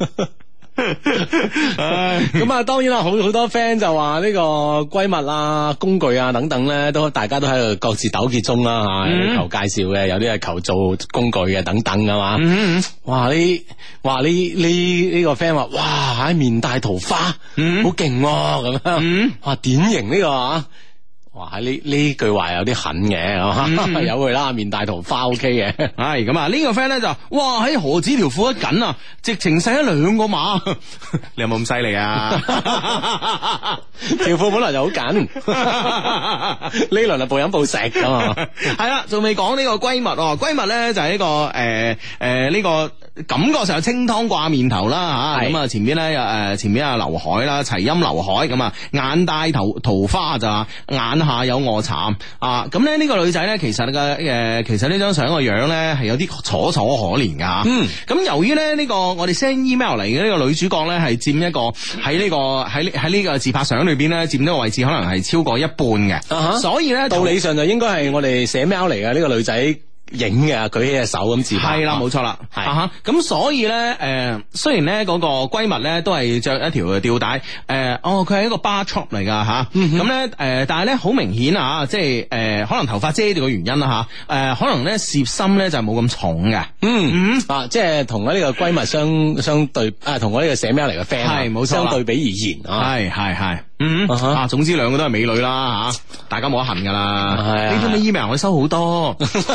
咁啊，當然啦，好好多 friend 就話呢個閨蜜啊、工具啊等等咧，都大家都喺度各自糾結中啦吓，有啲求介紹嘅，有啲係求做工具嘅等等噶嘛。嗯、哇！呢哇呢呢呢個 friend 話哇喺面帶桃花，好勁咁樣。哇！典型呢個啊！哇！呢呢句話有啲狠嘅，嗯、有佢啦，面帶桃花 OK 嘅。 係咁啊，呢個 friend 咧就哇喺何止條褲一緊啊，直情細咗兩個碼。你有冇咁犀利啊？ 條褲本來就好緊，呢輪就暴飲暴食咁啊。 係啦，仲未講呢個閨蜜哦，閨蜜咧就係呢個誒誒呢個感覺上清湯掛面頭啦吓，咁啊前邊咧有誒前邊啊劉海啦，齊音劉海咁啊，眼帶桃桃花就眼下有臥蠶啊，咁咧呢個女仔咧其實嘅誒其實呢張相個樣咧係有啲楚楚可憐噶，嗯，咁由於咧呢個我哋 send email 嚟嘅呢個女主角咧係佔一個喺呢個喺喺呢個自拍相裏邊咧佔呢個位置可能係超過一半嘅，uh-huh. 所以咧道理上就應該係我哋寫 mail 嚟嘅呢個女仔影嘅，舉起隻手咁自拍，係啦，冇錯啦，係啊，咁所以咧，誒、呃，雖然咧嗰個閨蜜咧都係着一條吊帶，誒、呃，哦，佢係一個 bar top 嚟噶吓，咁咧，誒、呃，但係咧好明顯啊，即係，誒、呃，可能頭髮遮住嘅原因啦吓，誒、呃，可能咧涉心咧就冇咁重嘅，嗯嗯，啊，即係同我呢個閨蜜相相對，啊，同我呢個寫 mail 嚟嘅 friend 係冇錯，相對比而言，係係係。嗯，uh-huh. 啊，總之兩個都係美女啦，吓，大家冇得恨噶啦。呢啲咩 email 我收好多，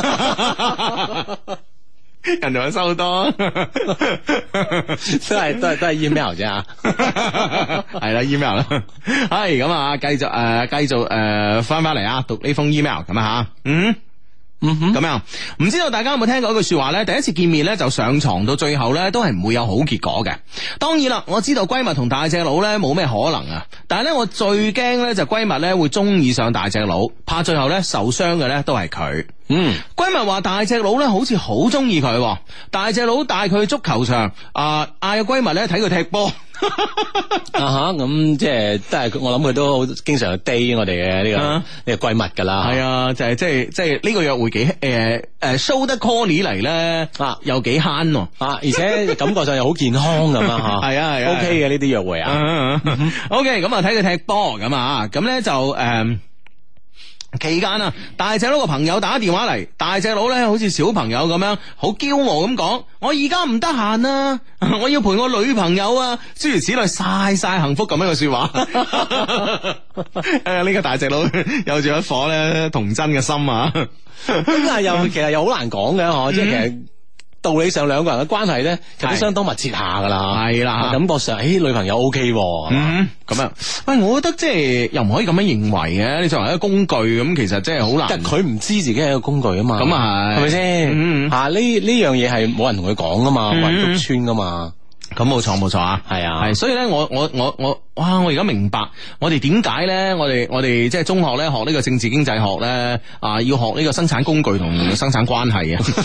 人哋我收好多，都係都係都係 email 啫吓，係啦 email 啦，係咁啊，繼續誒，繼、呃、續誒，翻翻嚟啊，讀呢封 email 咁啊吓，嗯。嗯哼，咁樣唔知道大家有冇聽過一句說話呢？第一次見面呢，就上床，到最後呢，都係唔會有好結果嘅。當然啦，我知道閨蜜同大隻佬呢冇咩可能啊，但係呢，我最驚呢，就閨蜜呢會中意上大隻佬，怕最後呢受傷嘅呢都係佢。嗯，閨蜜話大隻佬呢好似好中意佢，大隻佬帶佢去足球場啊，嗌個閨蜜呢睇佢踢波。啊哈，咁即係都係我諗佢都好經常去 date 我哋嘅呢個呢、uh-huh. 個閨蜜噶啦。係啊，就係即係即係呢個約會幾誒誒 show 得 Conny 嚟咧啊，又幾慳啊，而且感覺上又好健康咁啊吓。係啊係啊 ，OK 嘅呢啲約會啊。Uh-huh. OK， 咁啊睇佢踢波咁啊，咁咧就誒。Uh, 期間啊，大隻佬個朋友打電話嚟，大隻佬咧好似小朋友咁樣，好驕傲咁講：我而家唔得閒啊，我要陪我女朋友啊，諸如此類，晒晒幸福咁樣嘅說話。誒，呢個大隻佬有住一顆咧童真嘅心啊，咁但係又其實又好難講嘅嗬，即係其實。道理上兩個人嘅關係咧，其實都相當密切下噶啦，係啦，感覺上，誒、哎，女朋友 O K，嗯，咁樣，喂，我覺得即係又唔可以咁樣認為嘅，你作為一個工具咁，其實真係好難。但係佢唔知自己係一個工具啊嘛，咁啊係，係咪先？吓，呢呢樣嘢係冇人同佢講噶嘛，冇人督穿噶嘛。咁冇錯冇錯啊，係啊，係，所以咧，我我我我，哇！我而家明白，我哋點解咧，我哋我哋即係中學咧學呢個政治經濟學咧，啊，要學呢個生產工具同生產關係啊，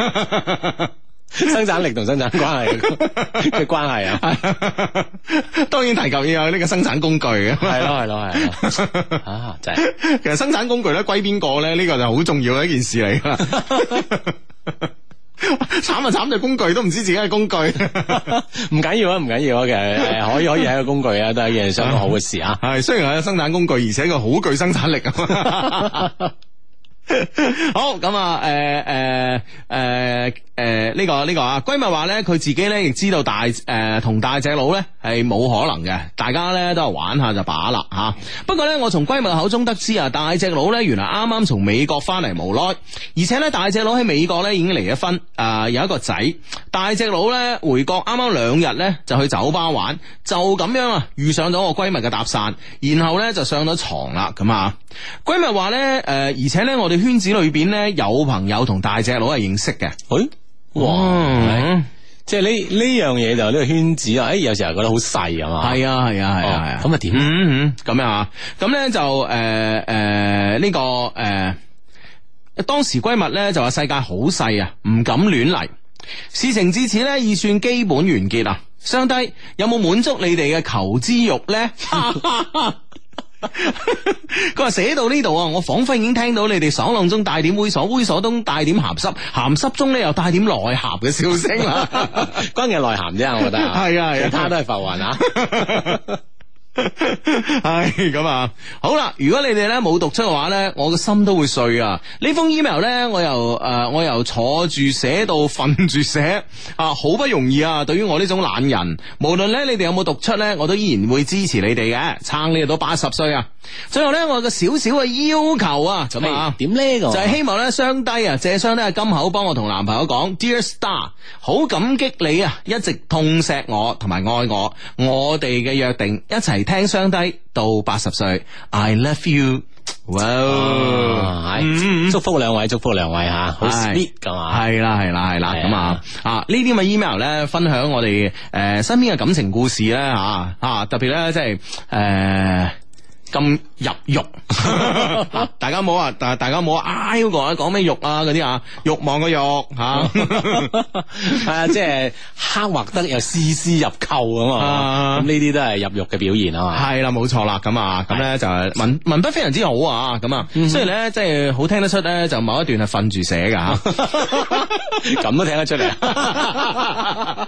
生產力同生產關係嘅關係啊，當然提及要有呢個生產工具嘅，係咯係咯係咯，啊，真係，其實生產工具咧歸邊個咧？呢個就好重要嘅一件事嚟噶啦。慘啊慘，就工具都唔知自己係工具，唔緊要啊，唔緊要啊，其實誒可以可以係一個工具啊，都係一件相當好嘅事啊。係雖然係生產工具，而且佢好具生產力啊。好咁啊，誒誒誒誒呢個呢個啊，閨蜜話咧，佢自己咧亦知道大誒同、呃、大隻佬咧係冇可能嘅，大家咧都係玩下就把啦吓。不過咧，我從閨蜜口中得知啊，大隻佬咧原來啱啱從美國翻嚟無耐，而且咧大隻佬喺美國咧已經離咗婚，啊、呃、有一個仔。大隻佬咧回國啱啱兩日咧就去酒吧玩，就咁樣啊遇上咗我閨蜜嘅搭訕，然後咧就上咗床啦咁啊。閨蜜話咧誒，而且咧我哋圈子裏邊咧有朋友同大隻佬係認識嘅。誒、哎，哇，嗯、即係呢呢樣嘢就呢個圈子啊，誒、哎，有時候覺得好細啊嘛。係啊係啊係啊係啊。咁啊點？嗯嗯，咁樣啊，咁咧就誒誒呢個誒、呃，當時閨蜜咧就話世界好細啊，唔敢亂嚟。事情至此咧，已算基本完結啦。相低有冇滿足你哋嘅求知欲咧？佢話寫到呢度啊，我仿佛已經聽到你哋爽朗中帶點猥瑣，猥瑣中帶點鹹濕，鹹濕中咧又帶點內涵嘅笑聲啦。關鍵係內涵啫，我覺得係啊，其他都係浮雲啊。唉，咁啊，好啦，如果你哋咧冇讀出嘅話咧，我個心都會碎啊！呢封 email 咧，我由誒、呃，我由坐住寫到瞓住寫啊，好不容易啊！對於我呢種懶人，無論咧你哋有冇讀出咧，我都依然會支持你哋嘅，撐你哋到八十歲啊！最後咧，我有個少少嘅要求啊，咁啊，點呢個就係希望咧，雙低啊，借雙低金口幫我同男朋友講 ，Dear Star，好感激你啊，一直痛錫我同埋愛我，我哋嘅約定一齊聽雙低到八十歲 ，I love you。哇，係祝福兩位，祝福兩位吓，好 sweet 噶嘛， 係啦係啦係啦，咁啊啊呢啲咁嘅 email 咧，分享我哋誒身邊嘅感情故事咧吓啊，特別咧即係誒。咁入肉，大家冇啊！大大家冇啊！嗰個講咩肉啊嗰啲啊，欲望嘅肉吓， 係啊，即係刻畫得又絲絲入扣啊嘛，咁呢啲都係入肉嘅表現啊嘛。 係啦，冇錯啦，咁啊，咁咧就係文文筆非常之好啊，咁啊，雖然咧即係好聽得出咧，就某一段係瞓住寫噶吓， 咁都聽得出嚟啊！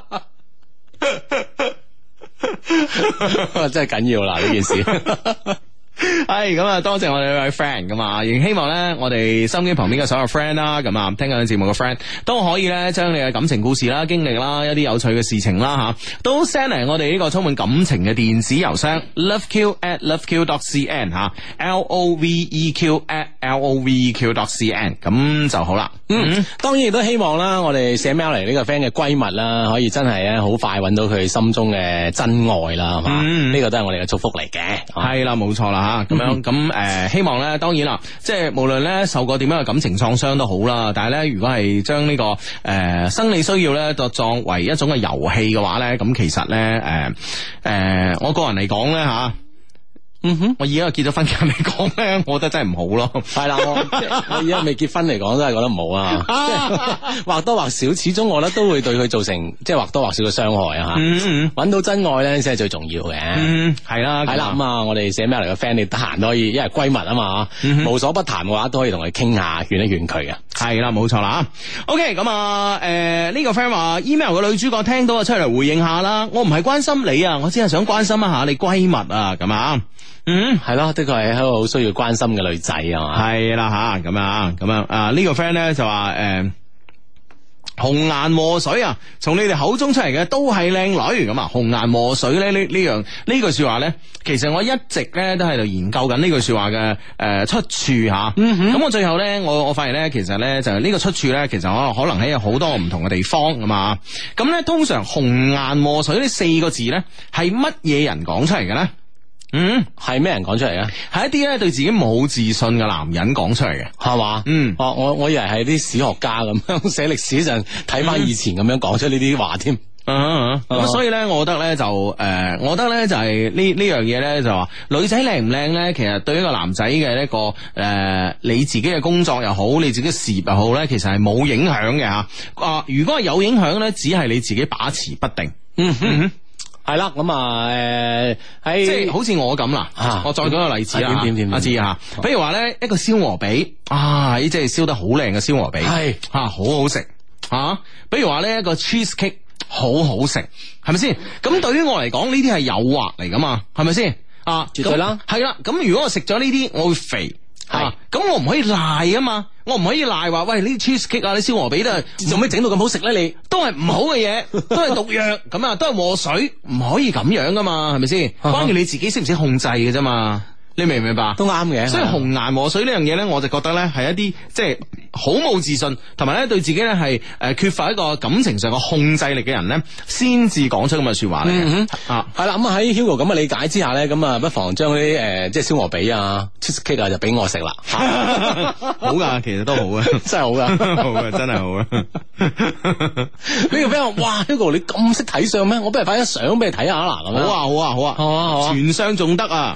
真係緊要啦呢件事。 係咁啊，多謝我哋呢位 friend 咁啊，亦希望咧我哋收音機旁邊嘅所有 friend 啦，咁啊聽緊節目嘅 friend 都可以咧將你嘅感情故事啦、經歷啦、一啲有趣嘅事情啦吓，都 send 嚟我哋呢個充滿感情嘅電子郵箱 loveq at loveq dot cn 吓 ，l o v e q at l o v e q dot cn 咁就好啦。 嗯，當然亦都希望啦，我哋寫 mail 嚟呢個 friend 嘅閨蜜啦，可以真係咧好快揾到佢心中嘅真愛啦，係嘛？呢個都係我哋嘅祝福嚟嘅。 係啦，冇錯啦。啊，咁樣咁誒、呃，希望咧，當然啦，即係無論咧受過點樣嘅感情創傷都好啦，但係咧，如果係將呢個誒、呃、生理需要咧，就作為一種嘅遊戲嘅話咧，咁其實咧，誒、呃、誒、呃，我個人嚟講咧吓。嗯哼，我而家結咗婚嘅嚟講咧，我覺得真係唔好咯。係啦，我我而家未結婚嚟講，真係覺得唔好啊。即係或多或少，始終我覺得都會對佢造成即係或多或少嘅傷害啊。吓、嗯，搵、嗯、到真愛咧先係最重要嘅。嗯，係啦，係啦。咁啊，我哋寫咩嚟嘅 friend，你得閒都可以，因為閨蜜啊嘛，嗯、無所不談嘅話，都可以同佢傾下，勸一勸佢嘅。係啦，冇錯啦。OK，咁啊，誒、呃、呢、這個 friend 話 email 嘅女主角聽到啊，出嚟回應下啦。我唔係關心你啊，我只係想關心一下你閨蜜啊，咁啊。嗯，係咯，的確係一個好需要關心嘅女仔啊嘛。係啦吓，咁啊，咁樣啊，呢個 friend 咧就話誒，紅顏禍水啊，從你哋口中出嚟嘅都係靚女咁啊。紅顏禍水咧呢呢樣呢句說話咧，其實我一直咧都喺度研究緊呢句說話嘅誒出處吓。咁、嗯、我最後咧，我我發現咧，其實咧就係呢個出處咧，其實可能可能喺好多唔同嘅地方啊嘛。咁咧通常紅顏禍水呢四個字咧係乜嘢人講出嚟嘅咧？嗯，係咩人講出嚟嘅？係一啲咧對自己冇自信嘅男人講出嚟嘅，係嘛？嗯，哦，我我以為係啲史學家咁樣寫歷史陣睇翻以前咁樣講出呢啲話添。咁、嗯、所以咧，我覺得咧就誒、呃，我覺得咧就係、是、呢呢樣嘢咧就話女仔靚唔靚咧，其實對一個男仔嘅一個誒、呃，你自己嘅工作又好，你自己嘅事業又好咧，其實係冇影響嘅吓。啊，如果係有影響咧，只係你自己把持不定。嗯哼。嗯係啦，咁啊，誒，喺即係好似我咁啦，啊，我再舉個例子啦，點點點，阿志吓，比如話咧一個燒鵝髀，啊，呢即係燒得好靚嘅燒鵝髀，係吓好好食，啊，比如話咧一個 cheese cake 好好食，係咪先？咁對於我嚟講呢啲係誘惑嚟噶嘛，係咪先？啊，絕對啦，係啦，咁如果我食咗呢啲，我會肥。係，咁、啊、我唔可以賴啊嘛，我唔可以賴話，喂，呢啲 cheese cake 啊，啲燒鵝髀都係做咩整到咁好食咧？你都係唔好嘅嘢，都係毒藥，咁啊，都係禍水，唔可以咁樣噶嘛，係咪先？關鍵你自己識唔識控制嘅啫嘛。你明唔明白？都啱嘅。所以紅顏禍水呢樣嘢咧，我就覺得咧係一啲即係好冇自信，同埋咧對自己咧係誒缺乏一個感情上嘅控制力嘅人咧，先至講出咁嘅說話嚟嘅。嗯、啊，係啦，咁啊喺 Hugo 咁嘅理解之下咧，咁啊不妨將啲誒即係燒鵝髀啊、cheese cake 啊就俾我食啦。好噶，其實都好啊，真係好噶，好啊，真係好啊。呢個 friend 話：哇 ，Hugo 你咁識睇相咩？我不如發張相俾你睇下啦。好啊，好啊，好啊，好啊，好啊，全相仲得啊！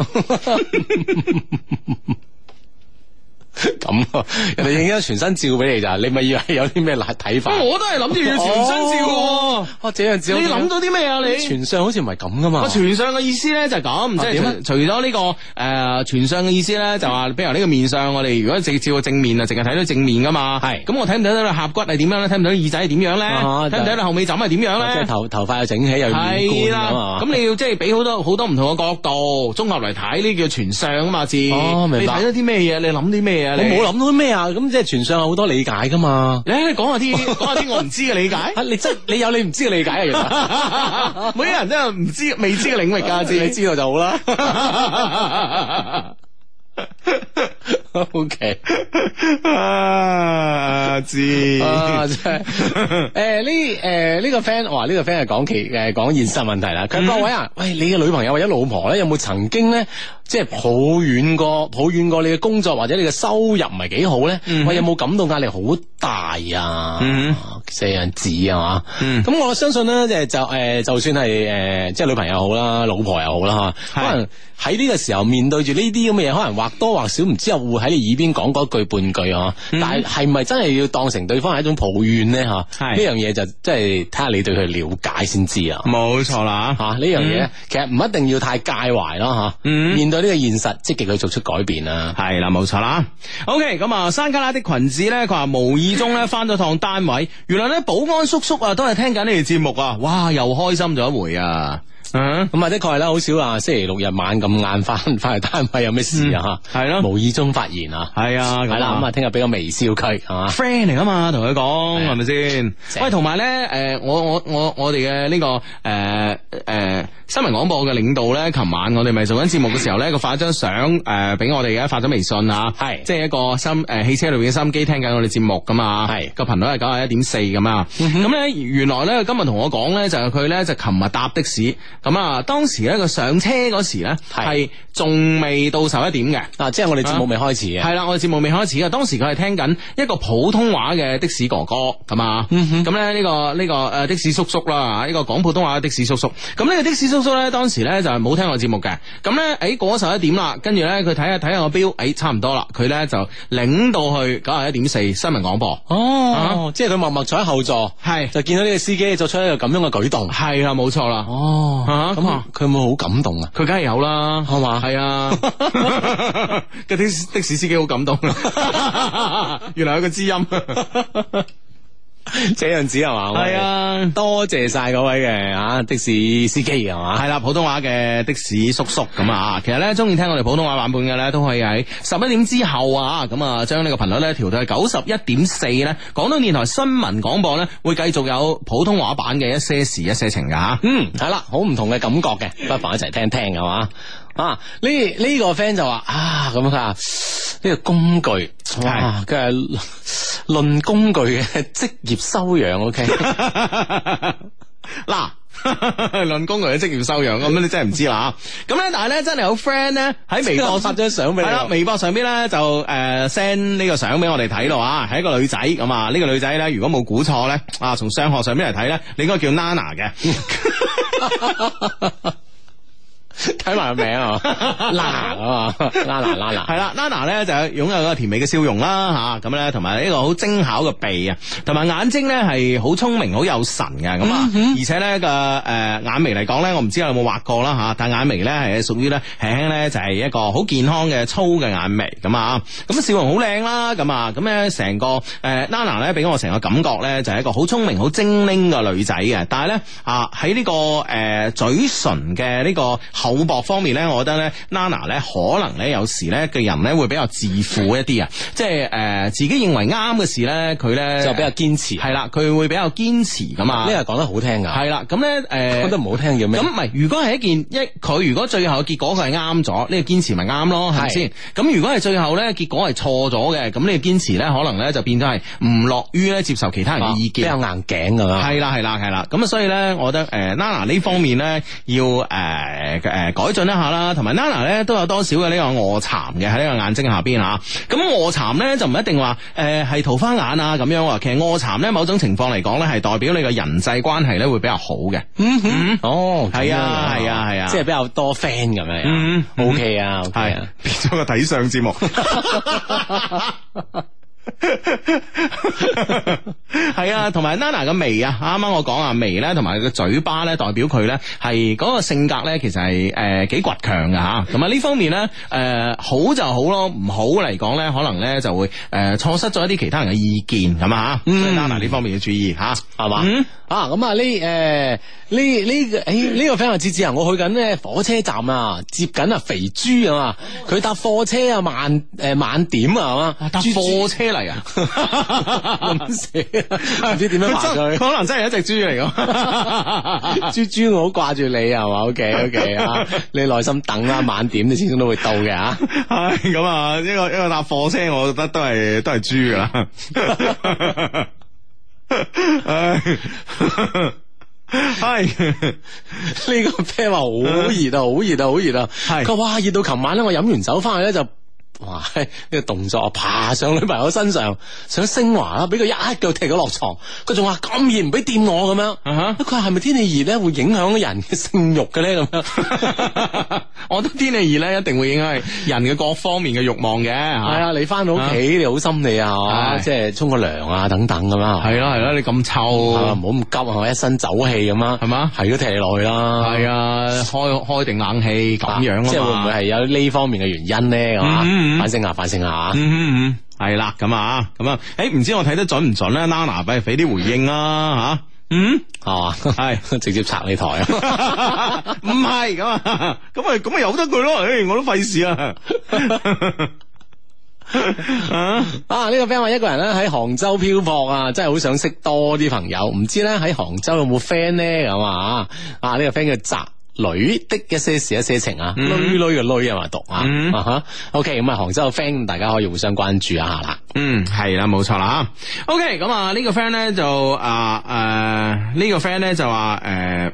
咁啊，人哋影咗全身照俾你咋？你咪以為有啲咩睇法？我都係諗住要全身照嘅。哦，這樣照你諗到啲咩啊？你全相好似唔係咁噶嘛？全相嘅意思咧就係咁，即係除咗呢個誒全相嘅意思咧，就話比如呢個面相，我哋如果直照個正面啊，淨係睇到正面噶嘛。係咁，我睇唔睇到你頰骨係點樣咧？睇唔睇到耳仔係點樣咧？睇唔睇到你後尾枕係點樣咧？即係頭頭髮又整起又圓冠啊嘛。咁你要即係俾好多好多唔同嘅角度綜合嚟睇，呢叫全相啊嘛。字哦，明白。你睇咗啲咩嘢？你諗啲咩嘢？我冇諗到啲咩啊！咁即係全相有好多理解噶嘛？你你講下啲講下啲我唔知嘅理解。你真你有你唔知嘅理解啊！其實每個人都有唔知未知嘅領域噶，知你知道就好啦。O K， 啊知啊真係誒呢誒呢個 friend 話呢個 friend 係講其誒講現實問題啦。佢各位啊，喂你嘅女朋友或者老婆咧有冇曾經咧即係抱怨過抱怨過你嘅工作或者你嘅收入唔係幾好咧？嗯、喂，有冇感到壓力好大啊？嗯，這樣子係嘛？咁、嗯、我相信咧，即係就誒、呃，就算係誒、呃，即係女朋友好啦，老婆又好啦吓，可能喺呢個時候面對住呢啲咁嘅嘢，可能或多或少唔知又會喺你耳邊講嗰句半句啊。嗯、但係係咪真係要當成對方係一種抱怨咧？吓，呢樣嘢就即係睇下你對佢了解先知啊。冇錯啦，吓呢樣嘢其實唔一定要太介懷咯吓。嗯、面對呢個現實，積極去做出改變啊。係啦，冇錯啦。OK， 咁啊，山卡拉的裙子咧，佢話無意中咧翻咗趟單位，原來咧保安叔叔啊都係聽緊呢條節目啊，哇，又開心咗一回啊！嗯，咁啊的確係啦，好少啊，星期六日晚咁晏翻翻去單位有咩事啊？係咯、嗯，無意中發現啊，係啊，係啦，咁啊聽日俾個微笑佢係嘛 friend 嚟啊嘛，同佢講係咪先？喂，同埋咧，誒、呃，我我我我哋嘅呢個誒誒、呃呃、新聞廣播嘅領導咧，琴晚我哋咪做緊節目嘅時候咧，佢發咗張相誒俾我哋嘅，發咗微信啊，係，即係一個心誒、呃、汽車裏邊嘅收音機聽緊我哋節目噶嘛，係個頻率係九十一點四咁啊，咁咧、嗯、原來咧今日同我講咧就係佢咧就琴日搭的士。咁啊，當時咧佢上車嗰時咧係仲未到十一點嘅，啊，即係我哋節目未開始嘅，係啦、啊，我哋節目未開始嘅。當時佢係聽緊一個普通話嘅的，的士哥哥，咁啊，咁咧呢個呢、這個誒的士叔叔啦，呢、這個講普通話嘅的，的士叔叔。咁呢個的士叔叔咧，當時咧就係冇聽我節目嘅。咁咧，誒過咗十一點啦，跟住咧佢睇下睇下個表，誒、哎、差唔多啦，佢咧就領到去九十一點四新聞廣播。哦，啊、即係佢默默坐喺後座，係就見到呢個司機作出一個咁樣嘅舉動，係啦，冇錯啦。哦。咁啊，佢有冇好感動啊？佢梗係有啦，係嘛？係啊，個的的士司機好感動，原來有個知音，這樣子係嘛？係啊，多謝晒嗰位嘅啊的士司機係嘛？係啦，普通話嘅的，的士叔叔咁啊，其實咧中意聽我哋普通話版本嘅咧，都可以喺十一點之後啊，咁啊將呢個頻率咧調到係九十一點四咧，廣東電台新聞廣播咧會繼續有普通話版嘅一些事一些情噶吓。嗯，係啦，好唔同嘅感覺嘅，不妨一齊聽聽係嘛？啊，呢呢、這個 friend 就話啊，咁佢話呢個工具，哇，佢係論工具嘅職業修養 ，OK， 嗱。論工具嘅職業修養，咁你真係唔知啦。咁咧，但係咧真係有 friend 咧喺微博發張相俾你，係啦，微博上邊咧就誒 send 呢個相俾我哋睇咯啊，係一個女仔咁啊。呢、這個女仔咧，如果冇估錯咧，啊，從相學上邊嚟睇咧，你應該叫 Nana 嘅。睇埋個名啊，Nana 啊嘛，Nana Nana 係啦，Nana 咧就擁有一個甜美嘅笑容啦，吓咁咧，同埋呢個好精巧嘅鼻啊，同埋眼睛咧係好聰明、好有神嘅咁啊，而且咧個誒眼眉嚟講咧，我唔知有冇畫過啦吓，但眼眉咧係屬於咧輕輕咧就係一個好健康嘅粗嘅眼眉咁啊，咁笑容好靚啦，咁啊，咁咧成個誒 Nana 咧俾我成個感覺咧就係一個好聰明、好精靈嘅女仔嘅，但係咧啊喺呢個誒嘴唇嘅呢個厚薄方面咧，我覺得咧 Nana 咧可能咧有時咧嘅人咧會比較自負一啲啊，即係誒自己認為啱嘅事咧，佢咧就比較堅持，係啦，佢會比較堅持咁啊。呢個講得好聽噶，係啦，咁咧誒講得唔好聽叫咩？咁唔係，如果係一件一佢如果最後嘅結果佢係啱咗，呢個堅持咪啱咯，係咪先？咁如果係最後咧結果係錯咗嘅，咁呢個堅持咧可能咧就變咗係唔樂於咧接受其他人嘅意見，比較硬頸噶啦。係啦係啦係啦，咁啊所以咧，我覺得誒 Nana 呢方面咧要誒誒改進一下啦，同埋 Nana 咧都有多少嘅呢個臥蠶嘅喺呢個眼睛下邊啊。咁臥蠶咧就唔一定話誒係桃花眼啊咁樣，其實臥蠶咧某種情況嚟講咧係代表你個人際關係咧會比較好嘅。嗯哼，哦，係啊係啊係啊，即係比較多 friend 咁樣。嗯 ，OK 啊，係啊，變咗個睇相節目。係啊，同埋 Nana 嘅眉啊，啱啱我講啊，眉咧同埋個嘴巴咧，代表佢咧係嗰個性格咧，其實係誒幾倔強嘅吓。咁啊呢方面咧，誒、呃、好就好咯，唔好嚟講咧，可能咧就會誒錯、呃、失咗一啲其他人嘅意見咁啊。所以 Nana 呢方面要注意吓，係嘛？嗯啊，咁啊呢誒呢呢個誒呢個 friend 話，志志啊，我去緊咧火車站啊，接緊啊肥豬啊嘛，佢搭貨車啊晚誒晚點啊係嘛，搭貨車嚟啊，咁死唔知點樣話佢，可能真係一隻豬嚟噶，豬豬我好掛住你係嘛 ，OK OK 啊，你耐心等啦，晚點你始終都會到嘅吓，係咁啊，一個一個搭貨車，我覺得都係都係豬噶啦。唉， 係呢個 friend 話好熱啊，好熱啊，好熱啊！係佢話哇熱到琴晚咧，我飲完酒翻去咧就。哇！呢、這個動作爬上女朋友身上，想升華啦，俾佢一腳踢咗落床。佢仲話咁熱唔俾掂我咁樣。佢話係咪天氣熱咧會影響人嘅性慾嘅咧？咁樣， 我覺得天氣熱咧一定會影響人嘅各方面嘅慾望嘅。係啊，你翻到屋企你好心理啊，即係沖個涼啊等等咁樣。 係咯係咯，你咁臭， 唔好咁急啊，一身酒氣咁啊，係嘛？係都踢落去啦。 係啊，開開定冷氣咁樣啊嘛。 即係會唔會係有呢方面嘅原因咧？係嘛？反省下，反省下。 嗯嗯嗯，係啦，咁啊，咁啊，誒，唔知我睇得準唔準咧？Nana，俾俾啲回應啦，吓，嗯，係嘛，係直接拆你台啊？ 唔係咁啊，咁啊，咁啊由得佢咯，誒，我都費事啊。 啊！呢、這個 friend 話一個人咧喺杭州漂泊啊，真係好想識多啲朋友，唔知咧喺杭州有冇 friend 咧咁啊？啊！呢、這個 friend 叫宅女的一些事一些情啊，女女嘅女啊嘛讀啊，啊哈 ，OK， 咁啊杭州嘅 friend 大家可以互相關注一下啦。 嗯，係啦，冇錯啦。OK， 咁啊呢個 friend 咧就啊誒呢個 friend 咧就話誒。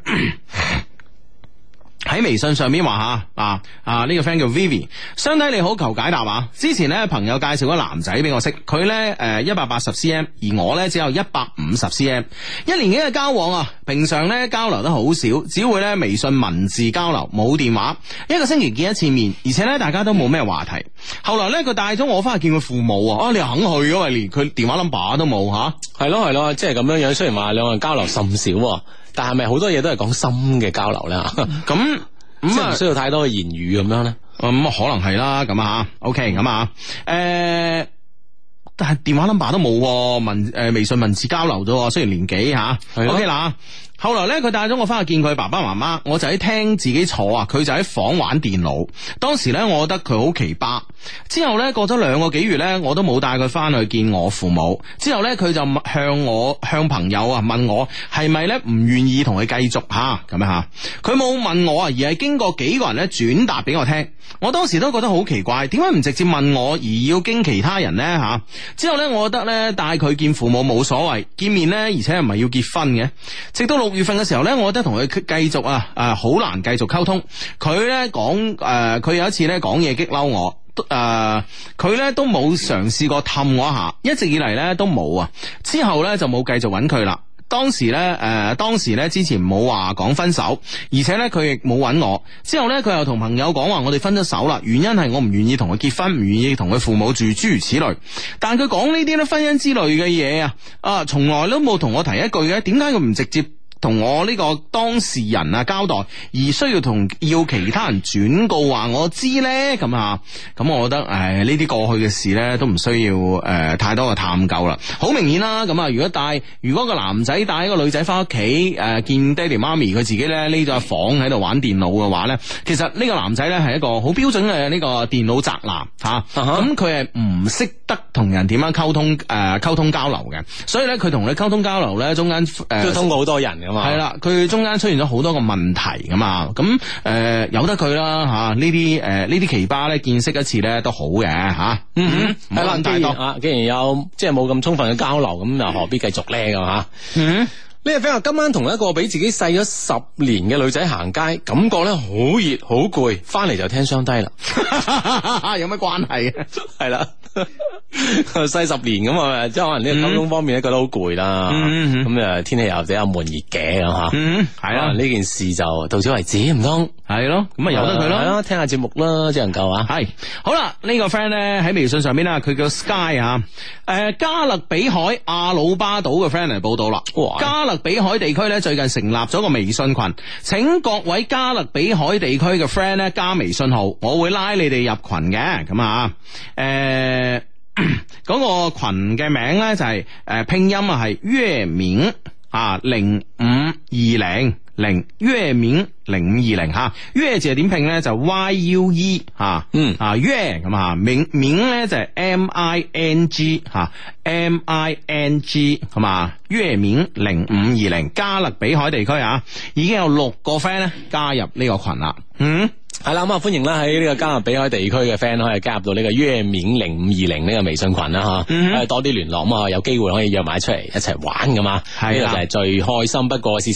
喺微信上面話吓啊啊呢、這個 friend 叫 Vivi， 相睇你好求解答啊！之前咧朋友介紹個男仔俾我識，佢咧誒一百八十 cm， 而我咧只有一百五十 cm， 一年幾嘅交往啊，平常咧交流得好少，只會咧微信文字交流，冇電話，一個星期見一次面，而且咧大家都冇咩話題。後來咧佢帶咗我翻去見佢父母啊，啊你肯去噶嘛？連佢電話 number 都冇吓， 係咯係咯，即係咁樣樣。雖然話兩個人交流甚少，但係咪好多嘢都係講心嘅交流咧？咁咁啊，唔需要太多嘅言語咁樣咧？ 咁、嗯、可能係啦，咁啊 OK， 咁啊，誒、呃，但係電話 number 都冇，文誒、呃、微信文字交流咗，雖然年紀吓，OK 啦。後來咧，佢帶咗我翻去見佢爸爸媽媽，我就喺廳自己坐啊，佢就喺房玩電腦。當時咧，我覺得佢好奇葩。之後咧，過咗兩個幾月咧，我都冇帶佢翻去見我父母。之後咧，佢就向我向朋友啊問我係咪咧唔願意同佢繼續吓咁樣吓。佢冇問我啊，而係經過幾個人咧轉達俾我聽。我當時都覺得好奇怪，點解唔直接問我而要經其他人咧吓？之後咧，我覺得咧帶佢見父母冇所謂，見面咧而且唔係要結婚嘅。直到六月份嘅時候咧，我覺得同佢繼續啊誒好難繼續溝通。佢咧講誒，佢、呃、有一次咧講嘢激嬲我，誒佢咧都冇嘗試過氹我一下，一直以嚟咧都冇啊。之後咧就冇繼續揾佢啦。當時咧，誒、呃，當時咧之前冇話講分手，而且咧佢亦冇揾我。之後咧佢又同朋友講話，我哋分咗手啦。原因係我唔願意同佢結婚，唔願意同佢父母住，諸如此類。但佢講呢啲咧婚姻之類嘅嘢啊，啊，從來都冇同我提一句嘅。點解佢唔直接同我呢個當事人啊交代，而需要同要其他人轉告話我知咧？咁啊，咁我覺得誒呢啲過去嘅事咧都唔需要誒、呃、太多嘅探究啦。好明顯啦，咁啊如果帶如果個男仔帶一個女仔翻屋企誒見爹哋媽咪，佢自己咧匿咗喺房喺度玩電腦嘅話咧，其實呢個男仔咧係一個好標準嘅呢個電腦宅男吓，咁佢係唔識得同人點樣溝通誒溝、呃、通交流嘅，所以咧佢同你溝通交流咧中間誒、呃、 都通過好多人嘅。 係啦，佢中間出現咗好多個問題噶嘛，咁誒、呃、由得佢啦吓，呢啲誒呢啲奇葩咧見識一次咧都好嘅吓，嗯哼，係啦， 既然啊，既然有即係冇咁充分嘅交流，咁又何必繼續咧咁吓？嗯。呢個 friend 話今晚同一個比自己細咗十年嘅女仔行街，感覺咧好熱好攰，翻嚟就聽雙低啦。 有咩關係啊？ 係啦，細十年咁啊，即係可能呢個溝通方面咧覺得好攰啦。咁啊天氣又比較悶熱嘅咁吓。嗯，係啦，呢件事就到此為止唔通？係咯，咁啊由得佢咯。係咯，聽下節目啦，只能夠啊。係好啦，呢個 friend 咧喺微信上邊啦，佢叫 Sky 啊。誒，加勒比海阿魯巴島嘅 friend 嚟報道啦。加勒比海地區咧最近成立咗個微信群，請各位加勒比海地區嘅 friend 咧加微信號，我會拉你哋入群嘅。咁啊，誒，嗰個群嘅名咧就係誒拼音啊係月明啊零五二零零月明零五二零吓，月字係點拼咧就 Y U E 吓，嗯啊月咁啊，明明咧就係 M I N G 吓 M I N G 係嘛，月明零五二零加勒比海地區啊，已經有六個 friend 咧加入呢個群啦，嗯。 係啦，咁啊歡迎啦喺呢個加勒比海地區嘅 friend 可以加入到呢個月面零五二零呢個微信群啦吓，嗯、哼多啲聯絡咁啊，有機會可以約埋出嚟一齊玩噶嘛，呢個就係最開心不過嘅事情啦。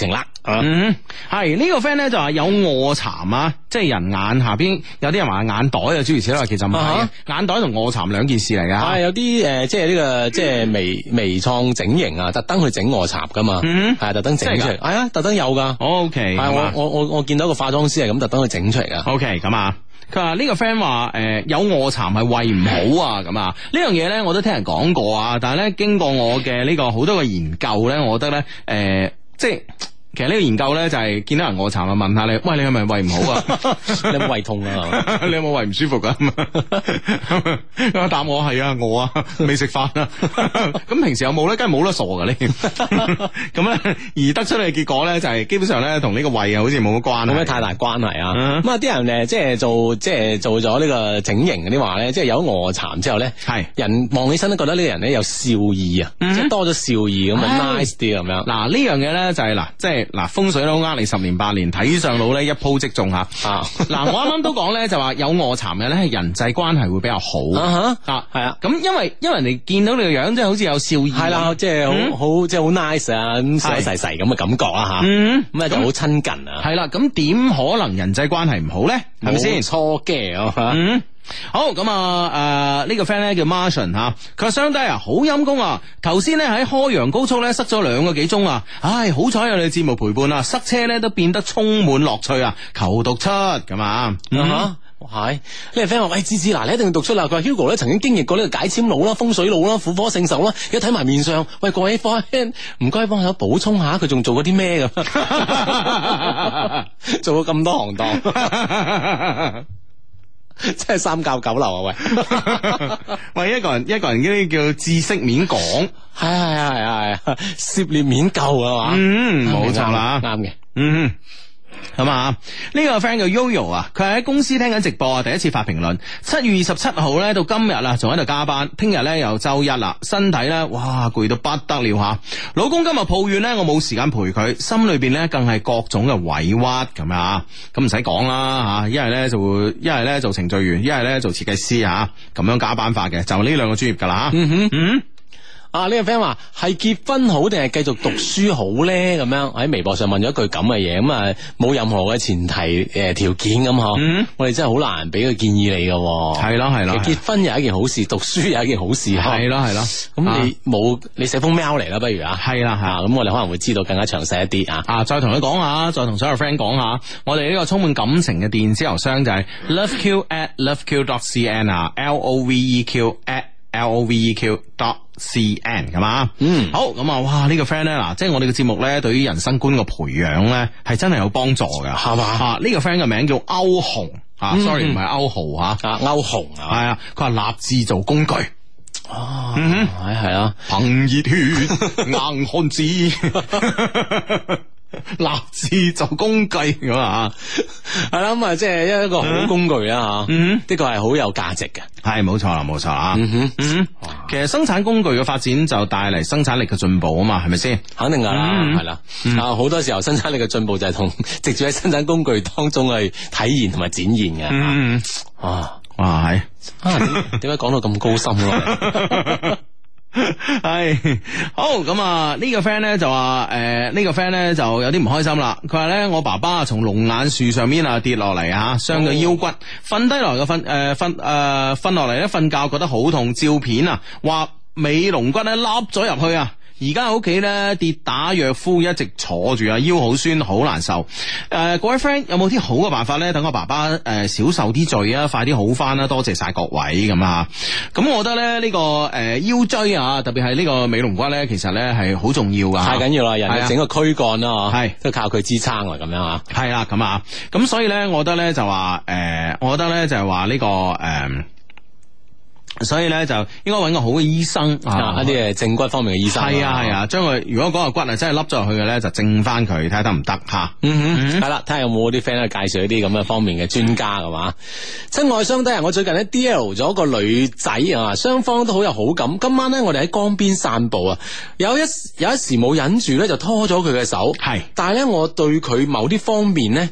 嗯，係呢、這個 friend 咧就話有臥蠶啊，即係人眼下邊有啲人話眼袋啊，諸如此類，其實唔係、啊，眼袋同臥蠶兩件事嚟噶。 係有啲誒，即係呢個即係微微創整形啊，特登去整臥蠶噶嘛，係特登整出嚟，係啊，特登有噶。O K，係我我我我見到個化妝師係咁特登去整出嚟噶。 O K，咁啊。佢話呢個 friend 話誒有臥蠶係胃唔好啊，咁啊呢樣嘢咧我都聽人講過啊，但係咧經過我嘅呢個好多嘅研究咧，我覺得咧誒、呃、即係。其實呢個研究咧就係見到人臥蠶啊，問下你，喂，你係咪胃唔好啊？ 你有冇胃痛啊？ 你有冇胃唔舒服噶？答我係啊，我啊未食飯啊。咁平時有冇咧？梗係冇得傻噶呢。咁咧而得出嚟嘅結果咧就係基本上咧同呢個胃啊好似冇乜關係，冇咩太大關係啊。咁啊啲人誒即係做即係做咗呢個整形嗰啲話咧，即係有臥蠶之後咧，係人望起身都覺得呢個人咧有笑意啊，即係多咗笑意咁啊 nice 啲咁樣。嗱呢樣嘢咧就係嗱即係。嗱風水佬呃你十年八年，睇上腦咧一鋪即中吓。啊，嗱我啱啱都講咧就話有臥蠶嘅咧係人際關係會比較好。啊哈，啊係啊，咁因為因為人哋見到你個樣即係好似有笑意，係啦，即係好好即係好 nice 啊，咁細細細咁嘅感覺啊吓。嗯，咁啊就好親近啊。係啦，咁點可能人際關係唔好咧？係咪先？錯嘅啊吓。嗯。好咁啊！誒、呃，呢、這個 friend 咧叫 Martian 吓，佢話雙低啊，好陰功啊！頭先咧喺開陽高速咧塞咗兩個幾鐘啊！唉，好彩有你節目陪伴啊，塞車咧都變得充滿樂趣啊！求讀出咁啊！嗯哼，係呢個 friend 話：喂，芝芝嗱，你一定要讀出啦！佢話 Hugo 咧曾經經歷過呢個解簽佬啦、風水佬啦、婦科聖手啦，而家睇埋面上，喂，各位 friend，唔該幫手補充下，佢仲做過啲咩咁？做過咁多行當。真係三教九流啊！喂， 喂，一個人一個人嗰啲叫知識面廣， 係係係係係涉獵面夠啊嘛， 嗯，冇錯啦， 啱嘅， 嗯。咁啊，呢個 friend 叫 Yoyo 啊，佢係喺公司聽緊直播啊，第一次發評論。七月二十七號咧到今日啦，仲喺度加班。聽日咧又周一啦，身體咧哇攰到不得了吓。老公今日抱怨咧，我冇時間陪佢，心裏邊咧更係各種嘅委屈咁啊。咁唔使講啦吓，一係咧就會，一係咧做程序員，一係咧做設計師吓，咁樣加班法嘅，就呢兩個專業噶啦吓。嗯哼，嗯。啊！呢、這個 friend 話係結婚好定係繼續讀書好咧？咁樣喺微博上問咗一句咁嘅嘢，咁啊冇任何嘅前提誒條、呃、件咁嗬。嗯、我哋真係好難俾個建議你噶。係咯係咯，其實結婚又係一件好事，讀書又係一件好事。係咯係咯。咁你冇、啊、你寫封 mail 嚟啦，不如啊？係啦係啊。咁我哋可能會知道更加詳細一啲啊。啊，再同佢講下，再同所有 friend 講下，我哋呢個充滿感情嘅電子郵箱就係 loveq at loveq dot cn 啊 ，l o v e q at l o v e q dot C N 係嘛？嗯，好咁啊！哇，呢個 friend 咧，嗱，即係我哋嘅節目咧，對於人生觀嘅培養咧，係真係有幫助嘅，係嘛？啊，呢個 friend 嘅名叫歐紅啊 ，sorry 唔係歐豪吓，啊歐紅啊，係啊，佢話立志做工具，哦，嗯，係係啊，憑熱血硬漢子。立志做工具咁啊，係啦咁啊，即係一個好工具啦吓，嗯，的確係好有價值嘅，係冇錯啦，冇錯啊，嗯哼，嗯哼，其實生產工具嘅發展就帶嚟生產力嘅進步啊嘛，係咪先？肯定噶啦，係啦，啊好多時候生產力嘅進步就係同直接喺生產工具當中去體現同埋展現嘅，嗯，啊，哇係，啊點解講到咁高深咯？係好咁啊！呢個 friend 咧就話誒，呢個 friend 咧就有啲唔開心啦。佢話咧我爸爸從龍眼樹上面啊跌落嚟啊，傷咗腰骨，瞓低落嚟嘅瞓誒瞓誒瞓落嚟咧瞓覺覺得好痛，照片啊話尾龍骨咧凹咗入去啊。而家喺屋企咧跌打藥夫，一直坐住啊，腰好酸，好難受。誒、呃，各位 friend 有冇啲好嘅辦法咧？等我爸爸誒、呃、少受啲罪啊，快啲好翻啦！多謝晒各位咁啊。咁我覺得咧呢、這個誒、呃、腰椎啊，特別係呢個尾龍骨咧，其實咧係好重要噶，太緊要啦！人嘅整個軀幹啦，係都靠佢支撐啦，咁樣啊。係啦，咁啊，咁所以咧，我覺得咧就話誒、呃，我覺得咧就係話呢個誒。呃所以咧就應該揾個好嘅醫生啊，一啲誒正骨方面嘅醫生。係啊係啊，將佢如果嗰個骨啊真係凹咗入去嘅咧，就正翻佢睇下得唔得吓。嗯哼，係啦，睇下有冇啲 friend 咧介紹一啲咁嘅方面嘅專家㗎嘛。親愛相低啊，我最近咧 D L 咗個女仔啊，雙方都好有好感。今晚咧我哋喺江邊散步啊，有一有一時冇忍住咧就拖咗佢嘅手。係，但係咧我對佢某啲方面咧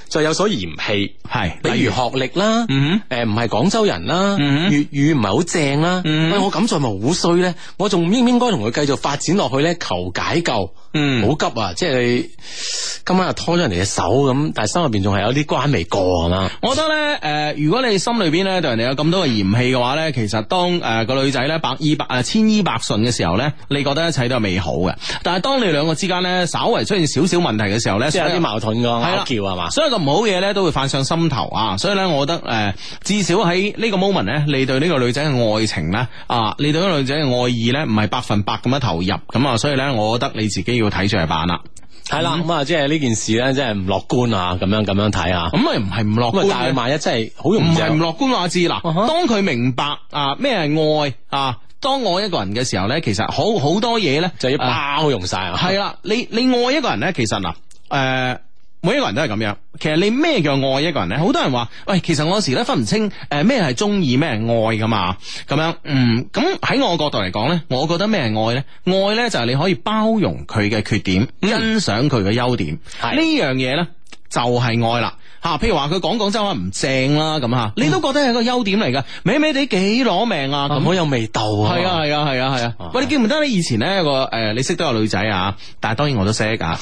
就有所嫌棄， 係， 比如學歷啦， 嗯誒唔係廣州人啦， 嗯粵語唔係好正啦， 嗯喂我咁做咪好衰咧？我仲應唔應該同佢繼續發展落去咧？求解救， 嗯， 好急啊！即係你今晚又拖咗人哋嘅手咁，但係心入邊仲係有啲關未過係嘛？ 我覺得咧，誒、呃，如果你心裏邊咧對人哋有咁多嘅嫌棄嘅話咧，其實當誒、呃、個女仔咧百依百誒千依百順嘅時候咧，你覺得一切都係美好嘅。但係當你兩個之間咧稍為出現少少問題嘅時候咧， 即係有啲矛盾㗎，拗撬係嘛？ 所以個唔好嘢咧都會泛上心頭啊！所以咧，我覺得誒、呃，至少喺呢個 moment 咧，你對呢個女仔嘅愛情咧啊，你對呢個女仔嘅愛意咧，唔係百分百咁樣投入咁啊，所以咧，我覺得你自己要睇住嚟辦啦。 係啦，咁啊，即係呢件事咧，真係唔樂觀啊！咁樣咁樣睇啊， 咁咪唔係唔樂觀， 但係萬一真係好容易唔係唔樂觀話知嗱， uh-huh. 當佢明白啊咩係愛啊，當愛一個人嘅時候咧，其實好好多嘢咧就要包容晒啊。 係啦，你你愛一個人咧，其實嗱，誒、呃，每一個人都係咁樣。其實你咩叫愛一個人咧？好多人話，喂，其實我有時咧分唔清誒咩係中意，咩係愛噶嘛。咁樣，嗯，咁喺我角度嚟講咧，我覺得咩係愛咧？愛咧就係你可以包容佢嘅缺點， 嗯、 欣賞佢嘅優點。呢樣嘢咧就係愛啦。吓，譬如話佢講廣州話唔正啦，咁吓，你都覺得係一個優點嚟噶，美美地幾攞命啊，咁好有味道啊，係啊係啊係啊係啊，喂，你記唔記得你以前咧個誒，你識得個女仔啊？但係當然我都識噶，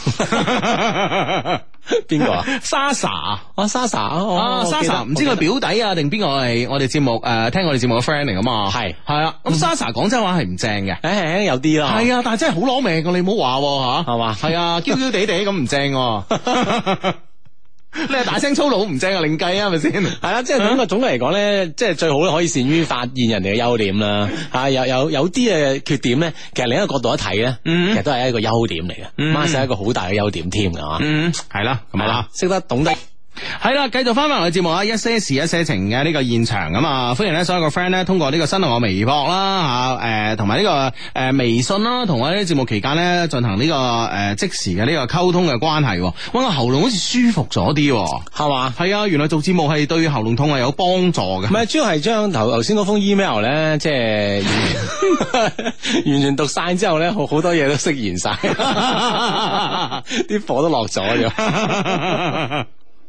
邊個啊？莎莎啊，莎莎啊，莎莎，唔知佢表弟啊定邊個係我哋節目誒，聽我哋節目嘅 friend 嚟噶嘛？係係啊，咁莎莎廣州話係唔正嘅，誒有啲啦，係啊，但係真係好攞命噶，你唔好話吓，係嘛？係啊，嬌嬌地地咁唔正。你係大聲粗魯唔正啊，另計啊，係咪先？係啦，即係總個總嚟講咧，即係最好可以善於發現人哋嘅優點啦。啊，有有有啲嘅缺點咧，其實另一個角度一睇咧，嗯、其實都係一個優點嚟嘅，孖晒、嗯、一個好大嘅優點添噶嘛。嗯，係啦，咁係啦，識得懂得。係啦，繼續翻翻我哋節目啊，一些事一些情嘅呢個現場啊嘛，歡迎咧所有個 friend 咧通過呢個新浪微博啦吓，誒同埋呢個誒微信啦，同我哋節目期間咧進行呢個誒即時嘅呢個溝通嘅關係。哇，個喉嚨好似舒服咗啲，係嘛？係啊，原來做節目係對喉嚨痛係有幫助嘅。唔係，主要係將頭頭先嗰封 email 咧，即係完全讀晒之後咧，好好多嘢都釋然晒，啲火都落咗咗。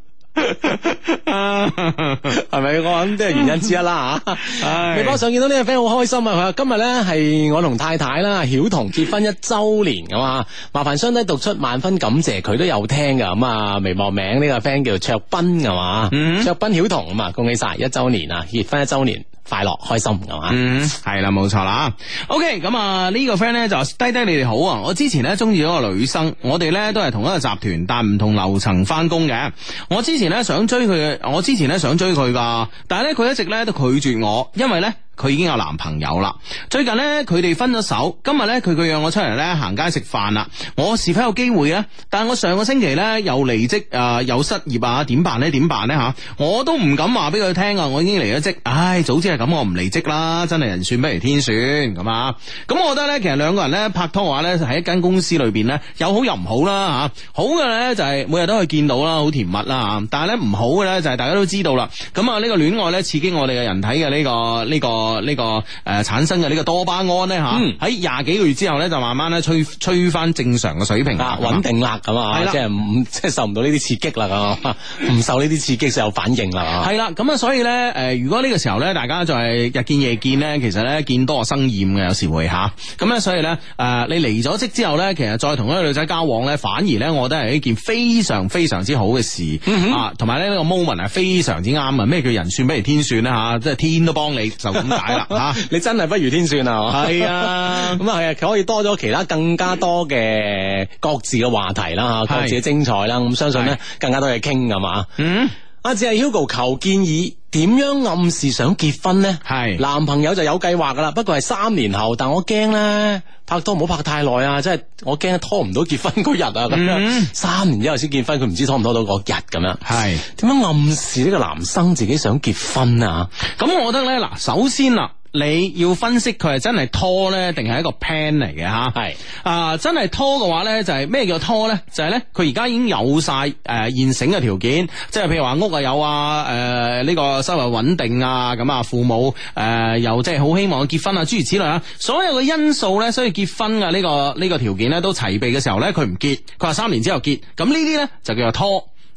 係咪？我諗都係原因之一啦吓。微博上見到呢個 friend 好開心啊！佢話今日咧係我同太太啦，曉彤結婚一周年噶嘛，麻煩雙低讀出萬分感謝，佢都有聽噶。咁啊，微博名呢個 friend 叫卓斌噶嘛，嗯、卓斌曉彤咁啊，恭喜晒一周年啊，結婚一周年。快樂開心係嘛？嗯，係啦，冇錯啦。OK，咁啊呢個 friend 咧就低低你哋好啊！我之前咧中意咗個女生，我哋咧都係同一個集團，但唔同樓層翻工嘅。我之前咧想追佢，我之前咧想追佢噶，但係咧佢一直咧都拒絕我，因為咧。佢已經有男朋友啦。最近呢，佢哋分咗手。今日呢，佢佢約我出嚟呢行街食飯啦。我是否有機會呢？但係我上個星期呢，又離職啊、呃，又失業啊，點辦呢？點辦呢？吓？我都唔敢話俾佢聽啊！我已經離咗職。唉，早知係咁，我唔離職啦。真係人算不如天算咁啊！咁我覺得呢，其實兩個人呢，拍拖嘅話呢，喺一間公司裏邊呢，有好又唔好啦吓。好嘅呢，就係每日都可以見到啦，好甜蜜啦。但係呢，唔好嘅呢，就係大家都知道啦。咁啊呢個戀愛呢，刺激我哋嘅人體嘅呢個呢個。呢、這個誒、呃、產生嘅呢個多巴胺咧吓，喺廿幾個月之後咧就慢慢咧吹吹翻正常嘅水平啦，穩定啦咁啊，即係唔即係受唔到呢啲刺激啦，唔受呢啲刺激就有反應啦。係啦，咁啊所以咧誒、呃，如果呢個時候咧大家就係日見夜見咧，其實咧見多生厭嘅，有時會吓。咁咧所以咧誒、呃，你離咗職之後咧，其實再同一個女仔交往咧，反而咧我覺得係一件非常非常之好嘅事、嗯、啊，同埋咧呢、這個 moment 係非常之啱啊！咩叫人算不如天算咧吓？即係天都幫你就咁解啦。啊！你真係不如天算啊！係啊，咁啊係啊，佢可以多咗其他更加多嘅各自嘅話題啦，吓各自嘅精彩啦，咁相信咧更加多嘢傾㗎嘛。嗯，阿只係 Hugo 求建議，點樣暗示想結婚呢？係男朋友就有計劃噶啦，不過係三年後，但我驚咧拍拖唔好拍太耐啊，即係我驚拖唔到結婚嗰日啊，咁樣、嗯、三年之後先結婚，佢唔知拖唔拖到嗰日咁樣。係點樣暗示呢個男生自己想結婚啊？咁我覺得咧，嗱，首先啦。你要分析佢係真係拖咧，定係一個 plan 嚟嘅吓？係啊，真係拖嘅話咧，就係、是、咩叫拖咧？就係咧，佢而家已經有晒誒、呃、現成嘅條件，即係譬如話屋啊有啊，誒、呃、呢、這個收入穩定啊，咁啊父母誒、呃、又即係好希望結婚啊，諸如此類啊，所有嘅因素咧，所以結婚嘅呢、這個呢、這個條件咧都齊備嘅時候咧，佢唔結，佢話三年之後結，咁呢啲咧就叫做拖。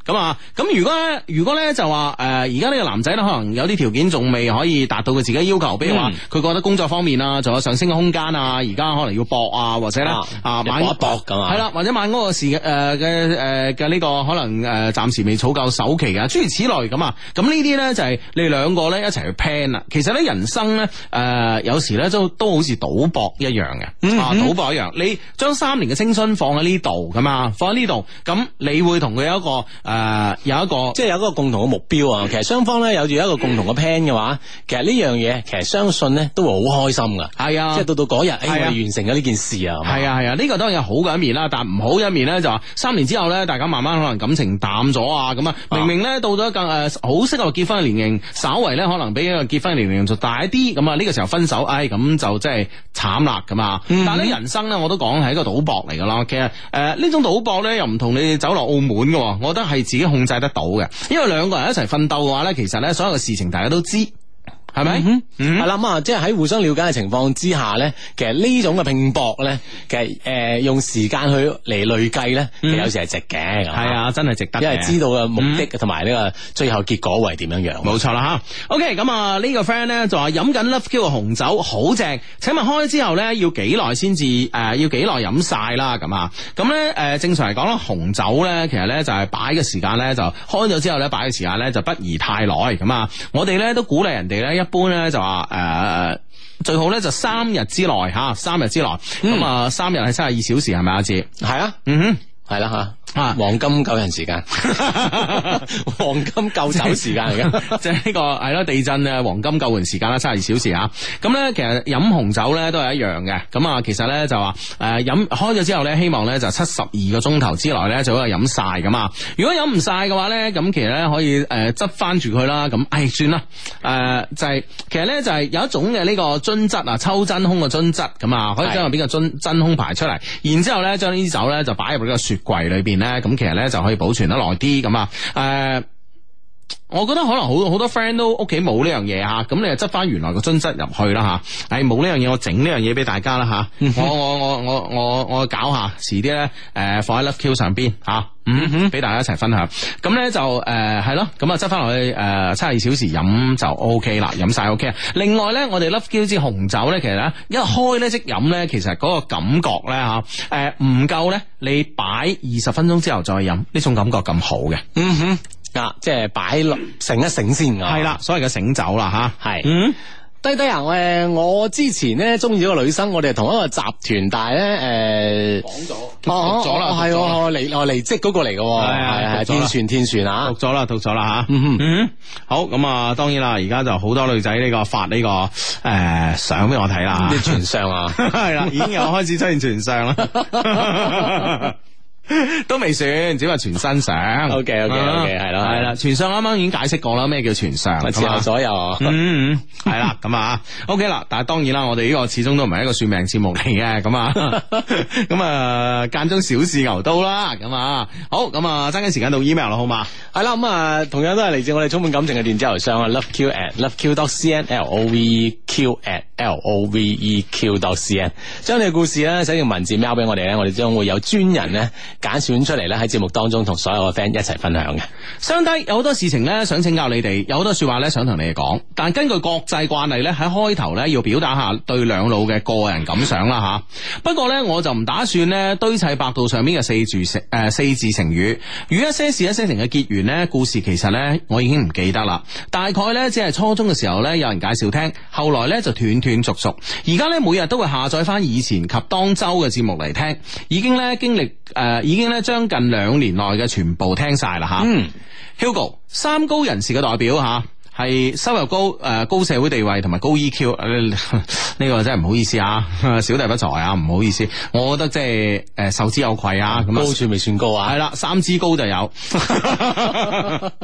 咁啊，咁如果咧，如果咧就話誒，而家呢個男仔咧，可能有啲條件仲未可以達到佢自己要求，比如話佢覺得工作方面啊，仲有上升嘅空間啊，而家可能要搏啊，或者咧啊買搏一搏咁啊， 係啦，或者買嗰個時誒嘅誒嘅呢個可能誒暫時未儲夠首期啊，諸如此類咁啊，咁呢啲咧就係你哋兩個咧一齊去 plan 啦。其實咧人生咧誒有時咧都都好似賭博一樣嘅，啊賭博一樣，你將三年嘅青春放喺呢度咁啊，放喺呢度，咁你會同佢有一個誒有一個即係有一個共同嘅目標啊。其實雙方咧有住一個共同嘅 plan 嘅話，其實呢樣嘢其實相信咧都會好開心噶。係啊，即係到到嗰日，誒我哋完成咗呢件事啊。係啊係啊，呢個當然有好嘅一面啦，但唔好一面咧就話三年之後咧，大家慢慢可能感情淡咗啊，咁啊明明咧到咗更誒好適合結婚嘅年齡，稍為咧可能比一個結婚嘅年齡仲大一啲，咁啊呢個時候分手，唉咁就真係慘啦咁啊。但係咧人生咧我都講係一個賭博嚟噶啦，其實誒呢、呃、種賭博咧又唔同你走落澳門嘅，我覺得係自己控制得到嘅，因為兩個人一齊奮鬥嘅話咧，其實咧所有嘅事情大家都知。係咪？係啦，咁啊，即係喺互相了解嘅情況之下咧，其實呢種嘅拼搏咧，其實誒、呃、用時間去嚟累計咧，其實有時係值嘅。係、嗯、啊，真係值得嘅，因為知道嘅目的同埋呢個最後結果會係點樣樣。冇錯啦吓。OK，咁啊呢個 friend 咧就話飲緊 Love Q 嘅紅酒好正，請問開之後咧要幾耐先至誒要幾耐飲晒啦？咁啊，咁咧誒正常嚟講咧紅酒咧其實咧就係擺嘅時間咧就開咗之後咧擺嘅時間咧就不宜太耐。咁啊，我哋咧都鼓勵人哋咧一。一般咧就話誒、呃、最好咧就三日之內吓，三日之內咁啊，三日係七十二小時係咪阿志？係啊，嗯哼，係啦吓。啊，黃金救人時間，黃金救酒時間嚟嘅，即係呢個係咯地震嘅黃金救援時間啦，七十二小時啊。咁咧其實飲紅酒咧都係一樣嘅。咁啊，其實咧就話誒飲開咗之後咧，希望咧就七十二個鐘頭之內咧就可以飲晒㗎嘛。如果飲唔晒嘅話咧，咁其實咧可以誒執翻住佢啦。咁唉算啦，誒、呃、就係、是、其實咧就係有一種嘅呢個樽質啊，抽真空嘅樽質咁啊，可以將入邊嘅樽真空排出嚟，然之後咧將呢啲酒咧就擺入呢個雪櫃裏邊咧。咁其實咧就可以保存得耐啲咁啊，誒、呃，我覺得可能好好多 friend 都屋企冇呢樣嘢吓，咁你就執翻原來個樽質入去啦吓，誒冇呢樣嘢我整呢樣嘢俾大家啦吓，我我我我我我搞下，遲啲咧誒放喺 Love Q 上邊吓。啊嗯哼，俾大家一齊分享。咁咧就誒係咯，咁啊執翻落去誒七十二小時飲就 O K 啦，飲晒 O K。另外咧，我哋 Love Q 支紅酒咧，其實咧一開咧即飲咧，其實嗰個感覺咧吓誒唔夠咧，你擺二十分鐘之後再飲，呢種感覺咁好嘅。嗯哼，啊即係擺落醒一醒先。係啦，所謂嘅醒酒啦吓。係。嗯。低低啊！誒，我之前咧中意咗個女生，我哋係同一個集團，但係咧誒講咗，讀咗啦，係我離我離職嗰個嚟嘅，係係天璇天璇啊，讀咗啦，讀咗啦吓，嗯哼，嗯好咁啊，當然啦，而家就好多女仔呢個發呢個誒相俾我睇啦，啲全相啊，係啦，已經有開始出現全相啦。都未算，只話全身相。O K O K O K 係咯，係啦，全相啱啱已經解釋過啦，咩叫全相？前後左右。嗯嗯，係啦，咁啊，O K 啦。但係當然啦，我哋呢個始終都唔係一個算命節目嚟嘅，咁啊，咁啊間中小試牛刀啦，咁啊，好，咁啊，爭緊時間到 email 啦，好嘛？係啦，咁啊，同樣都係嚟自我哋充滿感情嘅電子郵箱啊 ，loveq at loveq dot cn，l o v e q at l o v e q dot cn， 將你嘅故事咧寫成文字 mail 俾我哋咧，我哋將會有專人咧。揀選出嚟咧喺節目當中同所有嘅 friend 一齊分享嘅。相低有好多事情咧想請教你哋，有好多說話咧想同你哋講，但根據國際慣例咧喺開頭咧要表達下對兩老嘅個人感想啦吓。不過咧我就唔打算咧堆砌百度上面嘅四字成誒四字成語，與一些事一些情嘅結緣咧，故事其實咧我已經唔記得啦。大概咧只係初中嘅時候咧有人介紹聽，後來咧就斷斷續續，而家咧每日都會下載翻以前及當周嘅節目嚟聽，已經咧經歷誒。呃已經咧將近兩年內嘅全部聽晒啦吓。嗯，Hugo 三高人士嘅代表吓，係收入高誒、呃、高社會地位同埋高 E Q，呢、呃這個真係唔好意思啊，小弟不才啊，唔好意思，我覺得即係誒受之有愧啊。咁高處未算高啊，係啦，三支高就有。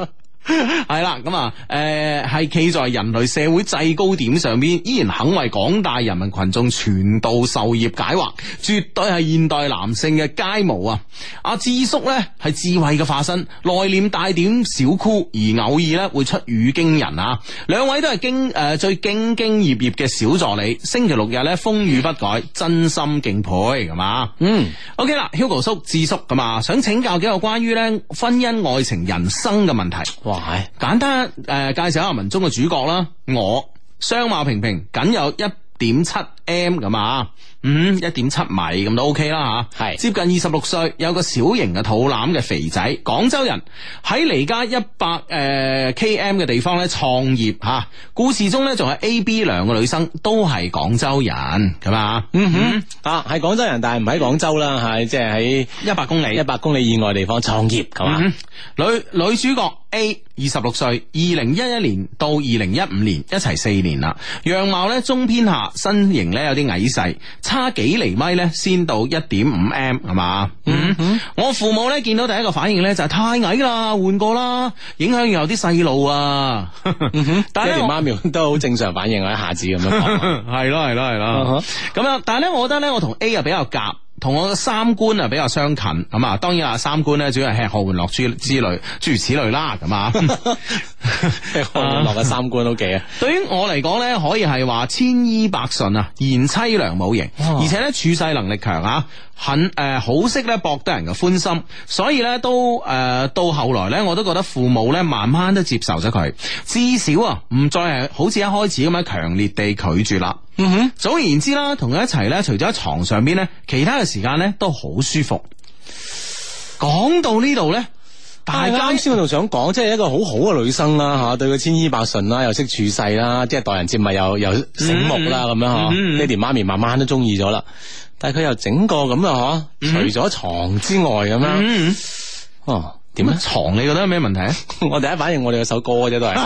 係啦，咁啊，誒，係企在人類社會制高點上邊，依然肯為廣大人民群眾傳道授業解惑，絕對係現代男性嘅楷模啊！阿智叔咧係智慧嘅化身，內斂帶點小酷，而偶爾咧會出語驚人啊！兩位都係經誒最兢兢業業嘅小助理，星期六日咧風雨不改，真心敬佩，係嘛？嗯 ，OK 啦 ，Hugo 叔、智叔咁啊，想請教幾個關於咧婚姻、愛情、人生嘅問題。 哇， 簡單誒、呃，介紹下文中嘅主角啦。我相貌平平，僅有一點七 M 咁啊，嗯，一點七米咁都 OK 啦吓。係接近二十六歲，有個小型嘅肚腩嘅肥仔，廣州人，喺離家一百誒 km 嘅地方咧創業吓。故事中咧仲有 A、B 兩個女生都係廣州人，咁啊，嗯哼， 啊係廣州人，但係唔喺廣州啦，係即係喺一百公里、 一百公里以外地方創業，係嘛、嗯？ 女女主角 A 二十六歲，二零一一年到二零一五年一齊四年啦，樣貌咧中偏下，身形咧有啲矮細，差幾厘米咧先到一點五 M 係嘛？嗯嗯，我父母咧見到第一個反應咧就係太矮啦，換過啦，影響有啲細路啊。嗯哼， 爹哋媽咪都好正常反應啊，一下子咁樣講， 係咯係咯係咯，咁樣，但係咧，我覺得咧，我同 A 啊比較夾。同我嘅三觀啊比較相近，咁啊，當然啊三觀咧主要係吃喝玩樂之之類，諸如此類啦，咁啊， 吃喝玩樂嘅三觀都幾啊。 對於我嚟講咧，可以係話千依百順啊，賢妻良母型，哦、而且咧處世能力強啊，很誒、呃、好識咧博得人嘅歡心，所以咧都誒、呃、到後來咧，我都覺得父母咧慢慢都接受咗佢，至少啊唔再係好似一開始咁樣強烈地拒絕啦。嗯哼，總而言之啦，同佢一齊咧，除咗喺床上邊咧，其他嘅時間咧都好舒服。講到呢度咧，大家啱先我仲想講，即係一個好好嘅女生啦，吓對佢千依百順啦，又識處世啦，即係待人接物又又醒目啦，咁、嗯、樣嗬。爹哋媽咪慢慢都中意咗啦，但係佢又整個咁啊，嗬，除咗床之外咁樣，嗯、哦。 點樣床你覺得有咩問題啊？ 我第一反應我哋有首歌啫，都係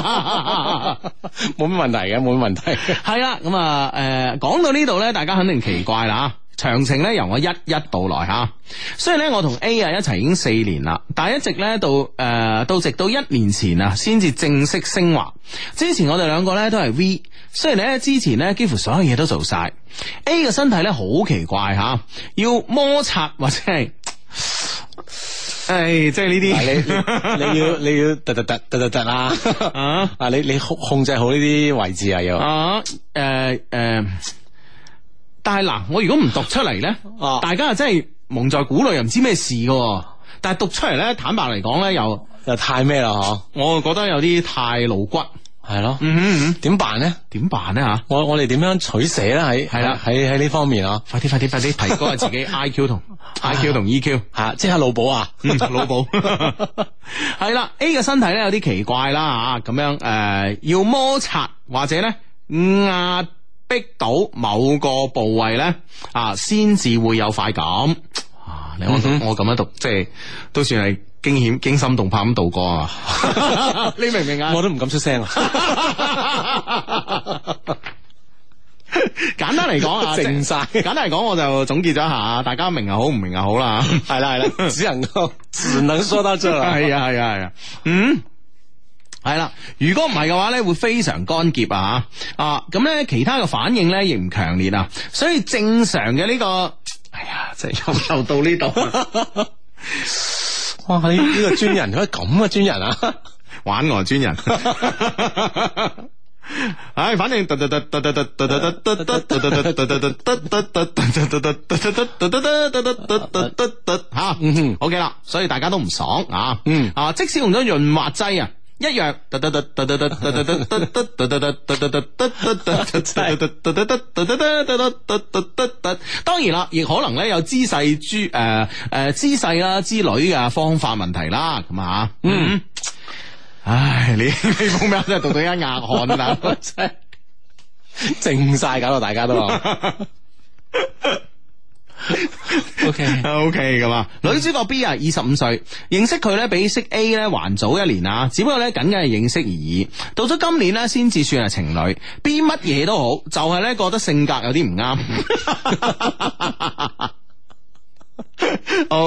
冇咩問題嘅，冇咩問題。 係啦，咁啊，誒，講到呢度咧，大家肯定奇怪啦。詳情咧由我一一道來吓。雖然咧我同 A 啊一齊已經四年啦，但係一直咧到誒、呃、到直到一年前啊，先至正式升華。之前我哋兩個咧都係 V， 雖然咧之前咧幾乎所有嘢都做晒。A 嘅身體咧好奇怪吓，要摩擦或者係。誒、哎，即係呢啲， 你你要你要突突突突突突啦，啊啊！你你控控制好呢啲位置啊，要啊，誒、呃、誒、呃， 但係嗱，我如果唔讀出嚟咧，啊、大家啊真係蒙在鼓裏，又唔知咩事噶，但係讀出嚟咧，坦白嚟講咧，又又太咩啦，嗬？ 我覺得有啲太露骨。 係咯，嗯嗯嗯，點辦咧？ 點辦咧吓？ 我我哋點樣取捨咧？喺係啦，喺喺呢方面啊！ 快啲快啲快啲提高下自己 I Q 同 I Q 同 E Q 吓，即刻腦補啊！ 腦補係啦 ，A 嘅身體咧有啲奇怪啦吓，咁樣誒、呃、要摩擦或者咧壓迫到某個部位咧啊，先至會有快感啊！你我我咁樣讀，即係都算係。驚險驚心動魄咁度過啊！你明唔明啊？ 我都唔敢出聲啊！ 簡單嚟講啊， 靜晒。 簡單嚟講，我就總結咗一下，大家明又好，唔明又好啦。 係啦係啦，只能夠只能說到這啦。 係啊係啊係啊，嗯，係啦。如果唔係嘅話咧，會非常乾澀啊啊！咁咧，其他嘅反應咧亦唔強烈啊，所以正常嘅呢個，哎呀，即係又又到呢度。 哇！呢呢個專人，佢咁嘅專人啊， 玩我專人。唉，反正吓，OK 啦，所以大家都唔爽啊。嗯啊，即使用咗潤滑劑啊，一樣。當然啦，亦可能咧有姿勢諸誒誒姿勢啦之類嘅方法問題啦，咁啊，嗯，唉，你呢封咩真係讀到一額汗啊，真係靜晒，搞到大家都。 O K O K 咁啊，女主角 B 啊，二十五歲，認識佢咧比識 A 咧還早一年啊，只不過咧僅僅係認識而已。到咗今年咧，先至算係情侶。B 乜嘢都好，就係、是、咧覺得性格有啲唔啱。O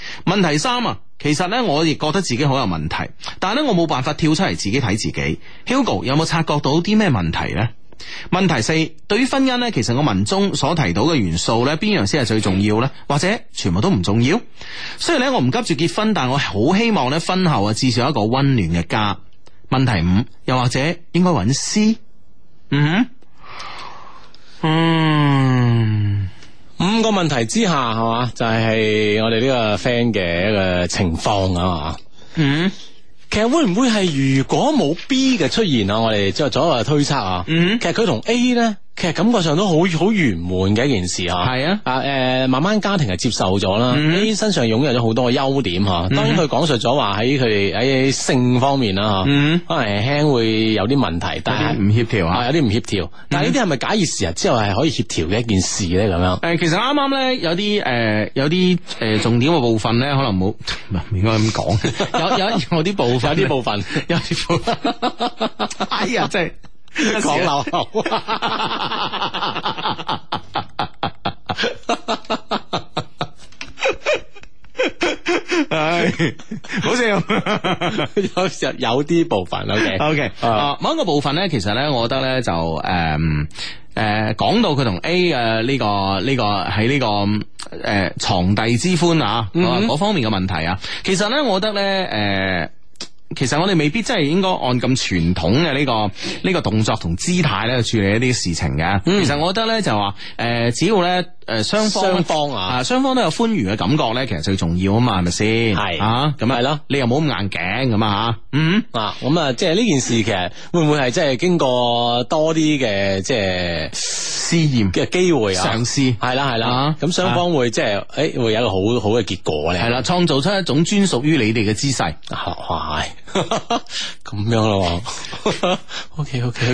問題三啊，其實咧我亦覺得自己好有問題，但係咧我冇辦法跳出嚟自己睇自己。Hugo 有冇察覺到啲咩問題呢？問題四，對於婚姻呢，其實我文中所提到嘅元素呢，邊樣先係最重要呢？或者全部都唔重要？雖然咧我唔急住結婚，但我好希望咧婚後啊至少有一個溫暖嘅家。問題五，又或者應該揾 C？ 嗯嗯， 五個問題之下係嘛，就係、是、我哋呢個 friend 嘅一個情況啊嘛。嗯。其實會唔會係如果冇 B 嘅出現啊？我哋即係左右推測啊。嗯，其實佢同 A 咧，其實感覺上都好好圓滿嘅一件事啊。係啊，啊誒、呃，慢慢家庭係接受咗啦。嗯、A 身上擁有咗好多嘅優點吓。當然佢講述咗話喺佢哋喺性方面啦吓，嗯、可能輕輕會有啲問題，但係唔協調啊，有啲唔協調。但係呢啲係咪假以時日之後係可以協調嘅一件事咧？咁樣誒，其實啱啱咧有啲誒、呃、有啲誒、呃、重點嘅部分咧，可能冇唔應該咁講。有有有啲部分。有啲部分，有啲部分，哎呀，真係講漏口，唉，好似有時有啲部分 ，OK，OK， 啊，某一個部分咧，其實咧，我覺得咧就誒誒，講到佢同 A 嘅呢個呢個喺呢個誒床笫之歡啊，嗰方面嘅問題啊，其實咧，我覺得咧誒。其實我哋未必真係應該按咁傳統嘅呢個呢個動作同姿態咧去處理一啲事情嘅。嗯、其實我覺得咧就話誒、呃，只要咧誒雙方雙方啊，雙方都有歡愉嘅感覺咧，其實最重要啊嘛，係咪先？係是啊，咁係咯，你又冇咁硬頸咁啊吓。嗯啊，咁啊，即係呢件事其實會唔會係即係經過多啲嘅即係試驗嘅機會啊？嘗試係啦係啦，咁雙方會即係誒會有一個好好嘅結果咧。係啦，創造出一種專屬於你哋嘅姿勢。係。咁樣咯，OK OK OK，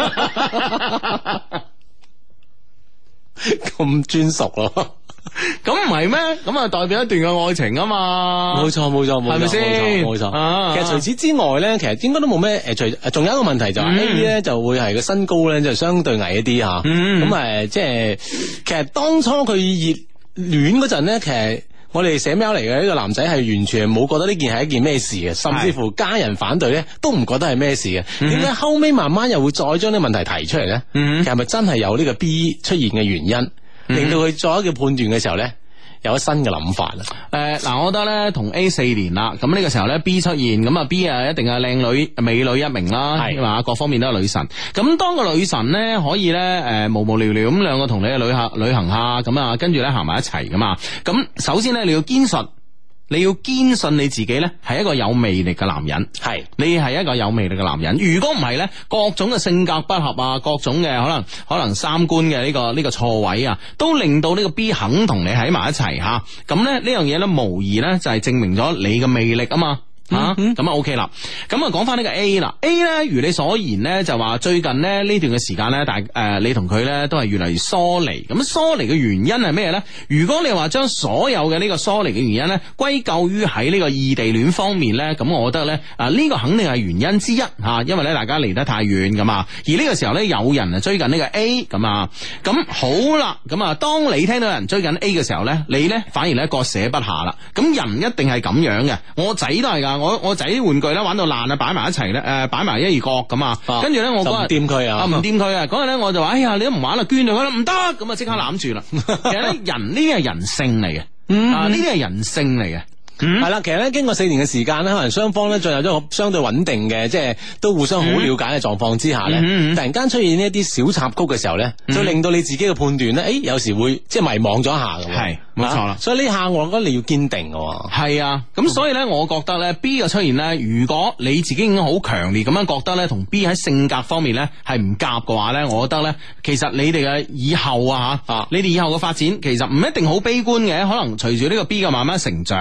咁專屬咯，咁唔係咩？咁啊代表一段嘅愛情啊嘛，冇錯冇錯冇錯，係咪先？冇錯，啊、其實除此之外咧，其實應該都冇咩誒，除仲有一個問題就係 A 咧就會係個身高咧就相對矮一啲吓，咁誒、嗯、即係其實當初佢熱戀嗰陣咧，其實。我哋寫 mail 嚟嘅呢個男仔係完全冇覺得呢件係一件咩事嘅，甚至乎家人反對咧都唔覺得係咩事嘅。點解、嗯、後尾慢慢又會再將呢個問題提出嚟咧？嗯、其實係咪真係有呢個 B 出現嘅原因，嗯、令到佢作一個判斷嘅時候咧？有咗新嘅諗法啦。誒，嗱，我覺得咧同 A 四年啦，咁呢個時候咧 B 出現，咁啊 B 啊一定係靚女美女一名啦，係嘛，各方面都係女神。咁當個女神咧可以咧誒無無聊聊咁兩個同你去旅行旅行下，咁啊跟住咧行埋一齊噶嘛。咁首先咧你要堅信。你要堅信你自己咧係一個有魅力嘅男人，係是你係一個有魅力嘅男人。如果唔係咧，各種嘅性格不合啊，各種嘅可能可能三觀嘅呢個呢個錯位啊，都令到呢個 B 肯同你喺埋一齊吓。咁咧呢樣嘢咧，無疑咧就係證明咗你嘅魅力啊嘛。啊，咁啊 OK 啦，咁啊講翻呢個 A 啦 ，A 咧如你所言咧就話最近咧呢段嘅時間咧，但係誒你同佢咧都係越嚟越疏離，咁疏離嘅原因係咩咧？如果你話將所有嘅呢個疏離嘅原因咧歸咎於喺呢個異地戀方面咧，咁我覺得咧啊呢個肯定係原因之一吓，因為咧大家離得太遠咁啊，而呢個時候咧有人啊追緊呢個 A 咁啊，咁好啦，咁啊當你聽到有人追緊 A 嘅時候咧，你咧反而咧割捨不下啦，咁人一定係咁樣嘅，我仔都係噶。我我仔啲玩具咧玩到爛啊，擺埋一齊咧，誒擺埋一二角咁啊，跟住咧我嗰日唔掂佢啊，唔掂佢啊，嗰日咧我就話，哎呀，你都唔玩啦，捐咗佢啦，唔得，咁啊即刻攬住啦。其實咧人呢啲係人性嚟嘅，啊呢啲係人性嚟嘅。係啦、嗯，其實咧經過四年嘅時間咧，可能雙方咧進入咗個相對穩定嘅，即係都互相好了解嘅狀況之下咧，嗯、突然間出現呢一啲小插曲嘅時候咧，嗯、就令到你自己嘅判斷咧，誒有時會即係迷惘咗一下咁。係，冇錯啦。所以呢下我覺得你要堅定嘅。係啊，咁所以咧，我覺得咧 B 嘅出現咧，如果你自己已經好強烈咁樣覺得咧，同 B 喺性格方面咧係唔夾嘅話咧，我覺得咧，其實你哋嘅以後啊吓，啊你哋以後嘅發展其實唔一定好悲觀嘅，可能隨住呢個 B 嘅慢慢成長。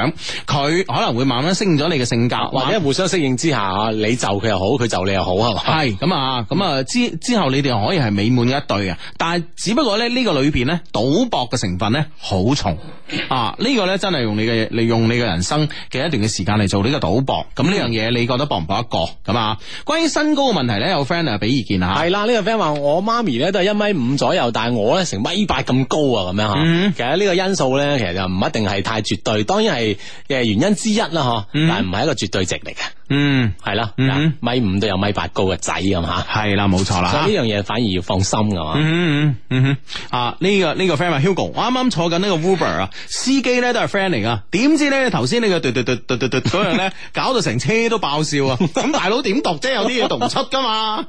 佢可能會慢慢適應咗你嘅性格， 或者互相適應之下，你就佢又好，佢就你又好，係嘛？ 係咁啊，咁啊之之後你哋可以係美滿嘅一對啊，但係只不過咧呢個裏邊咧賭博嘅成分咧好重啊，呢、這個咧真係用你嘅利用你嘅人生嘅一段嘅時間嚟做呢個賭博，咁呢樣嘢你覺得博唔博得過咁啊？關於身高嘅問題咧，有 friend 啊俾意見啊， 係啦，呢、這個 friend 話我媽咪咧都係一米五左右，但係我咧成米八咁高啊，咁樣吓。嗯、其實呢個因素咧，其實就唔一定係太絕對，當然係誒原因之一啦，嗬、嗯，但係唔係一個絕對值嚟嘅。嗯，係啦，嗯、米五都有米八高嘅仔咁吓， 係啦，冇錯啦。 所以呢樣嘢反而要放心噶嘛。 嗯嗯嗯嗯啊，呢、這個呢、這個 friend 話 Hugo，我啱啱坐緊呢個 Uber 啊，司機咧都係 friend 嚟噶，點知咧頭先呢個嘟嘟嘟嘟嘟嘟嗰樣咧，搞到成車都爆笑啊！咁大佬點讀啫？有啲嘢讀唔出噶嘛。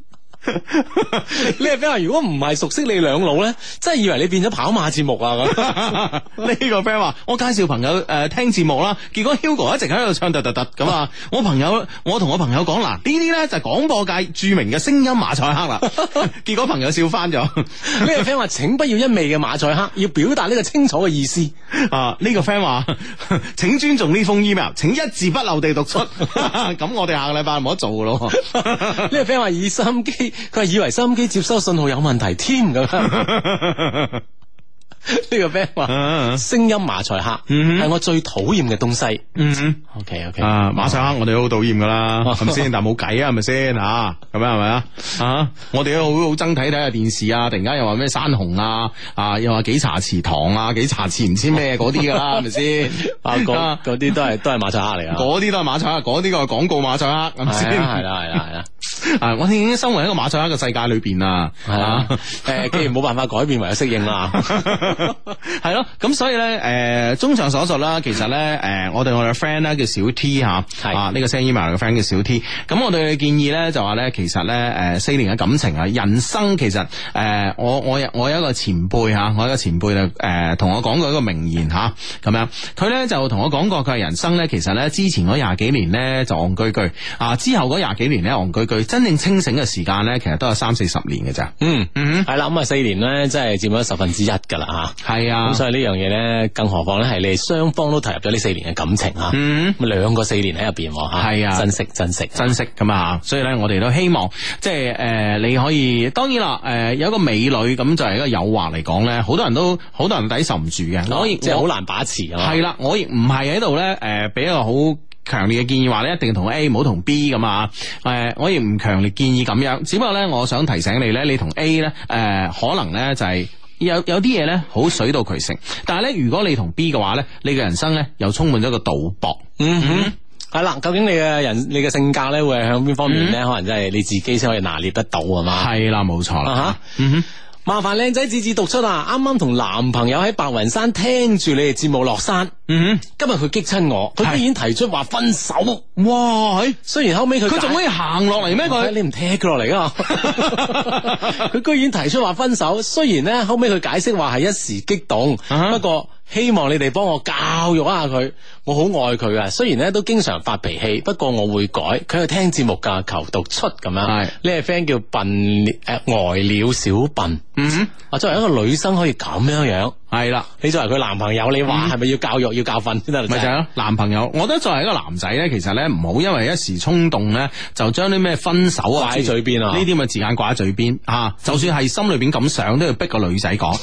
你係 friend 話如果唔係熟悉你兩老咧，真係以為你變咗跑馬節目啊咁。 呢個 friend 話我介紹朋友誒、呃、聽節目啦，結果 Hugo 一直喺度唱突突突咁啊！我朋友我同我朋友講嗱，呢啲咧就係廣播界著名嘅聲音馬賽克啦。結果朋友笑翻咗。呢個 friend 話請不要一味嘅馬賽克，要表達呢個清楚嘅意思。 啊，呢、這個 friend 話請尊重呢封 email， 請一字不漏地讀出。咁我哋下個禮拜唔好做咯。 呢個 friend 話以收音機。佢係以為收音機接收信號有問題添咁。呢個 friend 話聲音馬賽克係、嗯、我最討厭嘅東西。嗯 OK OK 啊，馬賽克我哋都好討厭噶啦，係咪先？但係冇計啊，係咪先吓？咁樣係咪啊？啊，我哋都好好憎睇睇下電視啊！突然間又話咩山紅啊，啊又話幾茶匙糖啊，幾茶匙唔知咩嗰啲噶啦，係咪先？ 啊，嗰嗰啲都係都係馬賽克嚟啊！ 嗰啲都係馬賽克，嗰啲個係廣告馬賽克，係咪先？ 係啦係啦係啦。 啊！我哋已經生活喺一個馬賽克嘅世界裏邊啦，係啊， 誒，既然冇辦法改變，唯有適應啦， 係咯。咁所以咧，誒，綜上所述啦，其實咧，誒，我哋我哋嘅 friend 咧叫小 T 吓，啊，呢個 send email 嘅 friend 叫小 T。咁我哋嘅建議咧就話咧，其實咧，誒，四年嘅感情啊，人生其實，誒，我我有我有一個前輩吓，我有一個前輩就誒同我講過一個名言吓，咁樣，佢咧就同我講過，佢係人生咧，其實咧之前嗰廿幾年咧就戇居居，啊，之後嗰廿幾年咧戇居居。真正清醒嘅時間咧，其實都有三四十年嘅咋。嗯嗯，係啦，咁啊四年咧，真係佔咗十分之一噶啦吓。係啊，咁所以呢樣嘢咧，更何況咧係你哋雙方都投入咗呢四年嘅感情吓。嗯，咁兩個四年喺入邊吓。係啊，珍惜珍惜珍惜咁啊！所以咧，我哋都希望即係誒、呃，你可以當然啦，誒、呃、有一個美女咁就係一個誘惑嚟講咧，好多人都好多人抵受唔住嘅。我亦即係好難把持啊。係啦，我亦唔係喺度咧，誒、呃、俾一個好強烈嘅建議話咧，一定同 A 唔好同 B 咁啊！誒、呃，我亦唔強烈建議咁樣，只不過咧，我想提醒你咧，你同 A 咧，誒、呃，可能咧就係、是、有有啲嘢咧好水到渠成，但係咧，如果你同 B 嘅話咧，你嘅人生咧又充滿咗個賭博。嗯哼，係啦，究竟你嘅人，你嘅性格咧會係向邊方面咧？嗯、可能真係你自己先可以拿捏得到啊嘛。係啦，冇錯啦。啊、嗯哼。麻煩靚仔字字讀出啊！啱啱同男朋友喺白雲山聽住你哋節目落山，嗯，今日佢激親我，佢居然提出話分手，哇！雖然後尾佢佢仲可以行落嚟咩？佢你唔踢佢落嚟啊？佢居然提出話分手，雖然咧後尾佢解釋話係一時激動，啊、不過希望你哋幫我教育一下佢，我好愛佢啊！雖然咧都經常發脾氣，不過我會改。佢係聽節目噶，求讀出咁樣。係呢個 friend 叫笨誒呆了小笨。嗯哼，啊，作為一個女生可以咁樣樣，係啦，你作為佢男朋友，你話係咪要教育、嗯、要教訓先得？咪就係咯，男朋友，我覺得作為一個男仔咧，其實咧唔好因為一時衝動咧，就將啲咩分手啊掛喺嘴邊啊，呢啲咁嘅字眼掛喺嘴邊啊，就算係心裏邊咁想，都要逼個女仔講，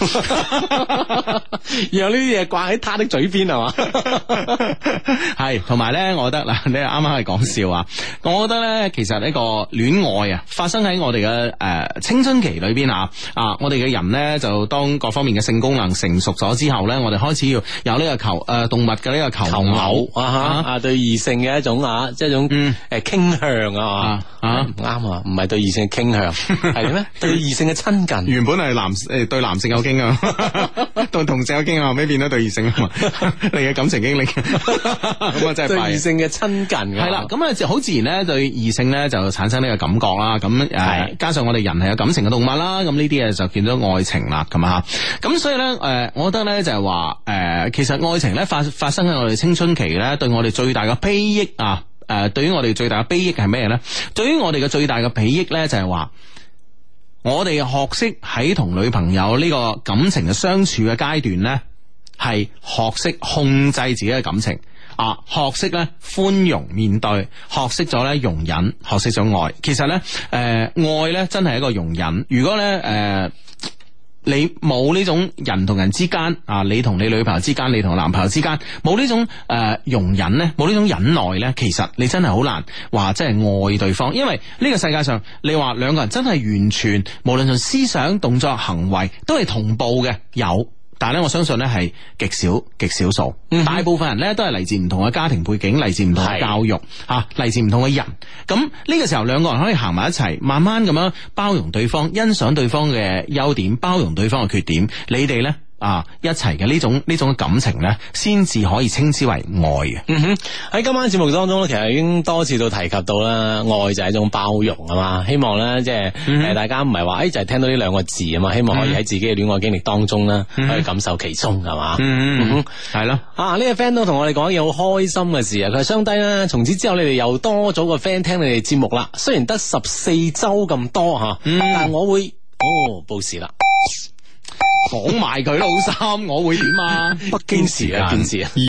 然後呢啲嘢掛喺他的嘴邊係嘛？係，同埋咧，我覺得嗱，你啱啱係講笑啊，我覺得咧，其實呢個戀愛啊，發生喺我哋嘅誒青春期裏邊啊，啊，我哋嘅人咧就當各方面嘅性功能成熟咗之後咧，我哋開始要有呢個求誒、呃、動物嘅呢個求偶啊吓啊，對異性嘅一種啊，即係一種誒傾向啊啊唔啱啊，唔係對異性嘅傾向係咩？對異性嘅親近，原本係男誒對男性有傾向，對同性有傾向，後尾變咗對異性啊嘛，你嘅感情經歷咁啊真係對異性嘅親近係啦，咁啊就好自然咧對異性咧就產生呢個感覺啦，咁誒、呃、加上我哋人係有感情嘅動物啦，咁呢啲嘢就見咗愛情啦，咁啊咁所以咧誒、呃，我覺得咧就係話誒，其實愛情咧發發生喺我哋青春期咧，對我哋最大嘅裨益啊誒、呃，對於我哋最大嘅裨益係咩咧？對於我哋嘅最大嘅裨益咧，就係話我哋學識喺同女朋友呢個感情嘅相處嘅階段咧，係學識控制自己嘅感情。 啊，學識咧寬容面對，學識咗咧容忍，學識咗愛。其實咧，誒、呃，愛咧真係一個容忍。如果咧，誒、呃。你冇呢種人同人之間啊，你同你女朋友之間，你同男朋友之間冇呢種誒、呃、容忍咧，冇呢種忍耐咧，其實你真係好難話真係愛對方，因為呢個世界上你話兩個人真係完全無論從思想、動作、行為都係同步嘅有。但係咧，我相信咧係極少極少數，嗯、大部分人咧都係嚟自唔同嘅家庭背景，嚟自唔同嘅教育，吓嚟是、啊、自唔同嘅人。咁呢個時候，兩個人可以行埋一齊，慢慢咁樣包容對方，欣賞對方嘅優點，包容對方嘅缺點。你哋咧啊一齊嘅呢種呢種感情咧，先至可以稱之為愛嘅。 嗯哼，喺今晚節目當中咧，其實已經多次都提及到啦，愛就係一種包容啊嘛。希望咧即係誒大家唔係話誒就係聽到呢兩個字啊嘛，希望可以喺自己嘅戀愛經歷當中咧，可以感受其中係嘛。嗯哼，係咯。啊呢個 friend 都同我哋講嘢好開心嘅事啊，佢係雙低啦。從此之後你哋又多咗個 friend 聽你哋節目啦。雖然得十四周咁多吓，嗯、但係我會哦報時啦。 講埋佢老三，我會點啊？ 北京時啊，件事啊。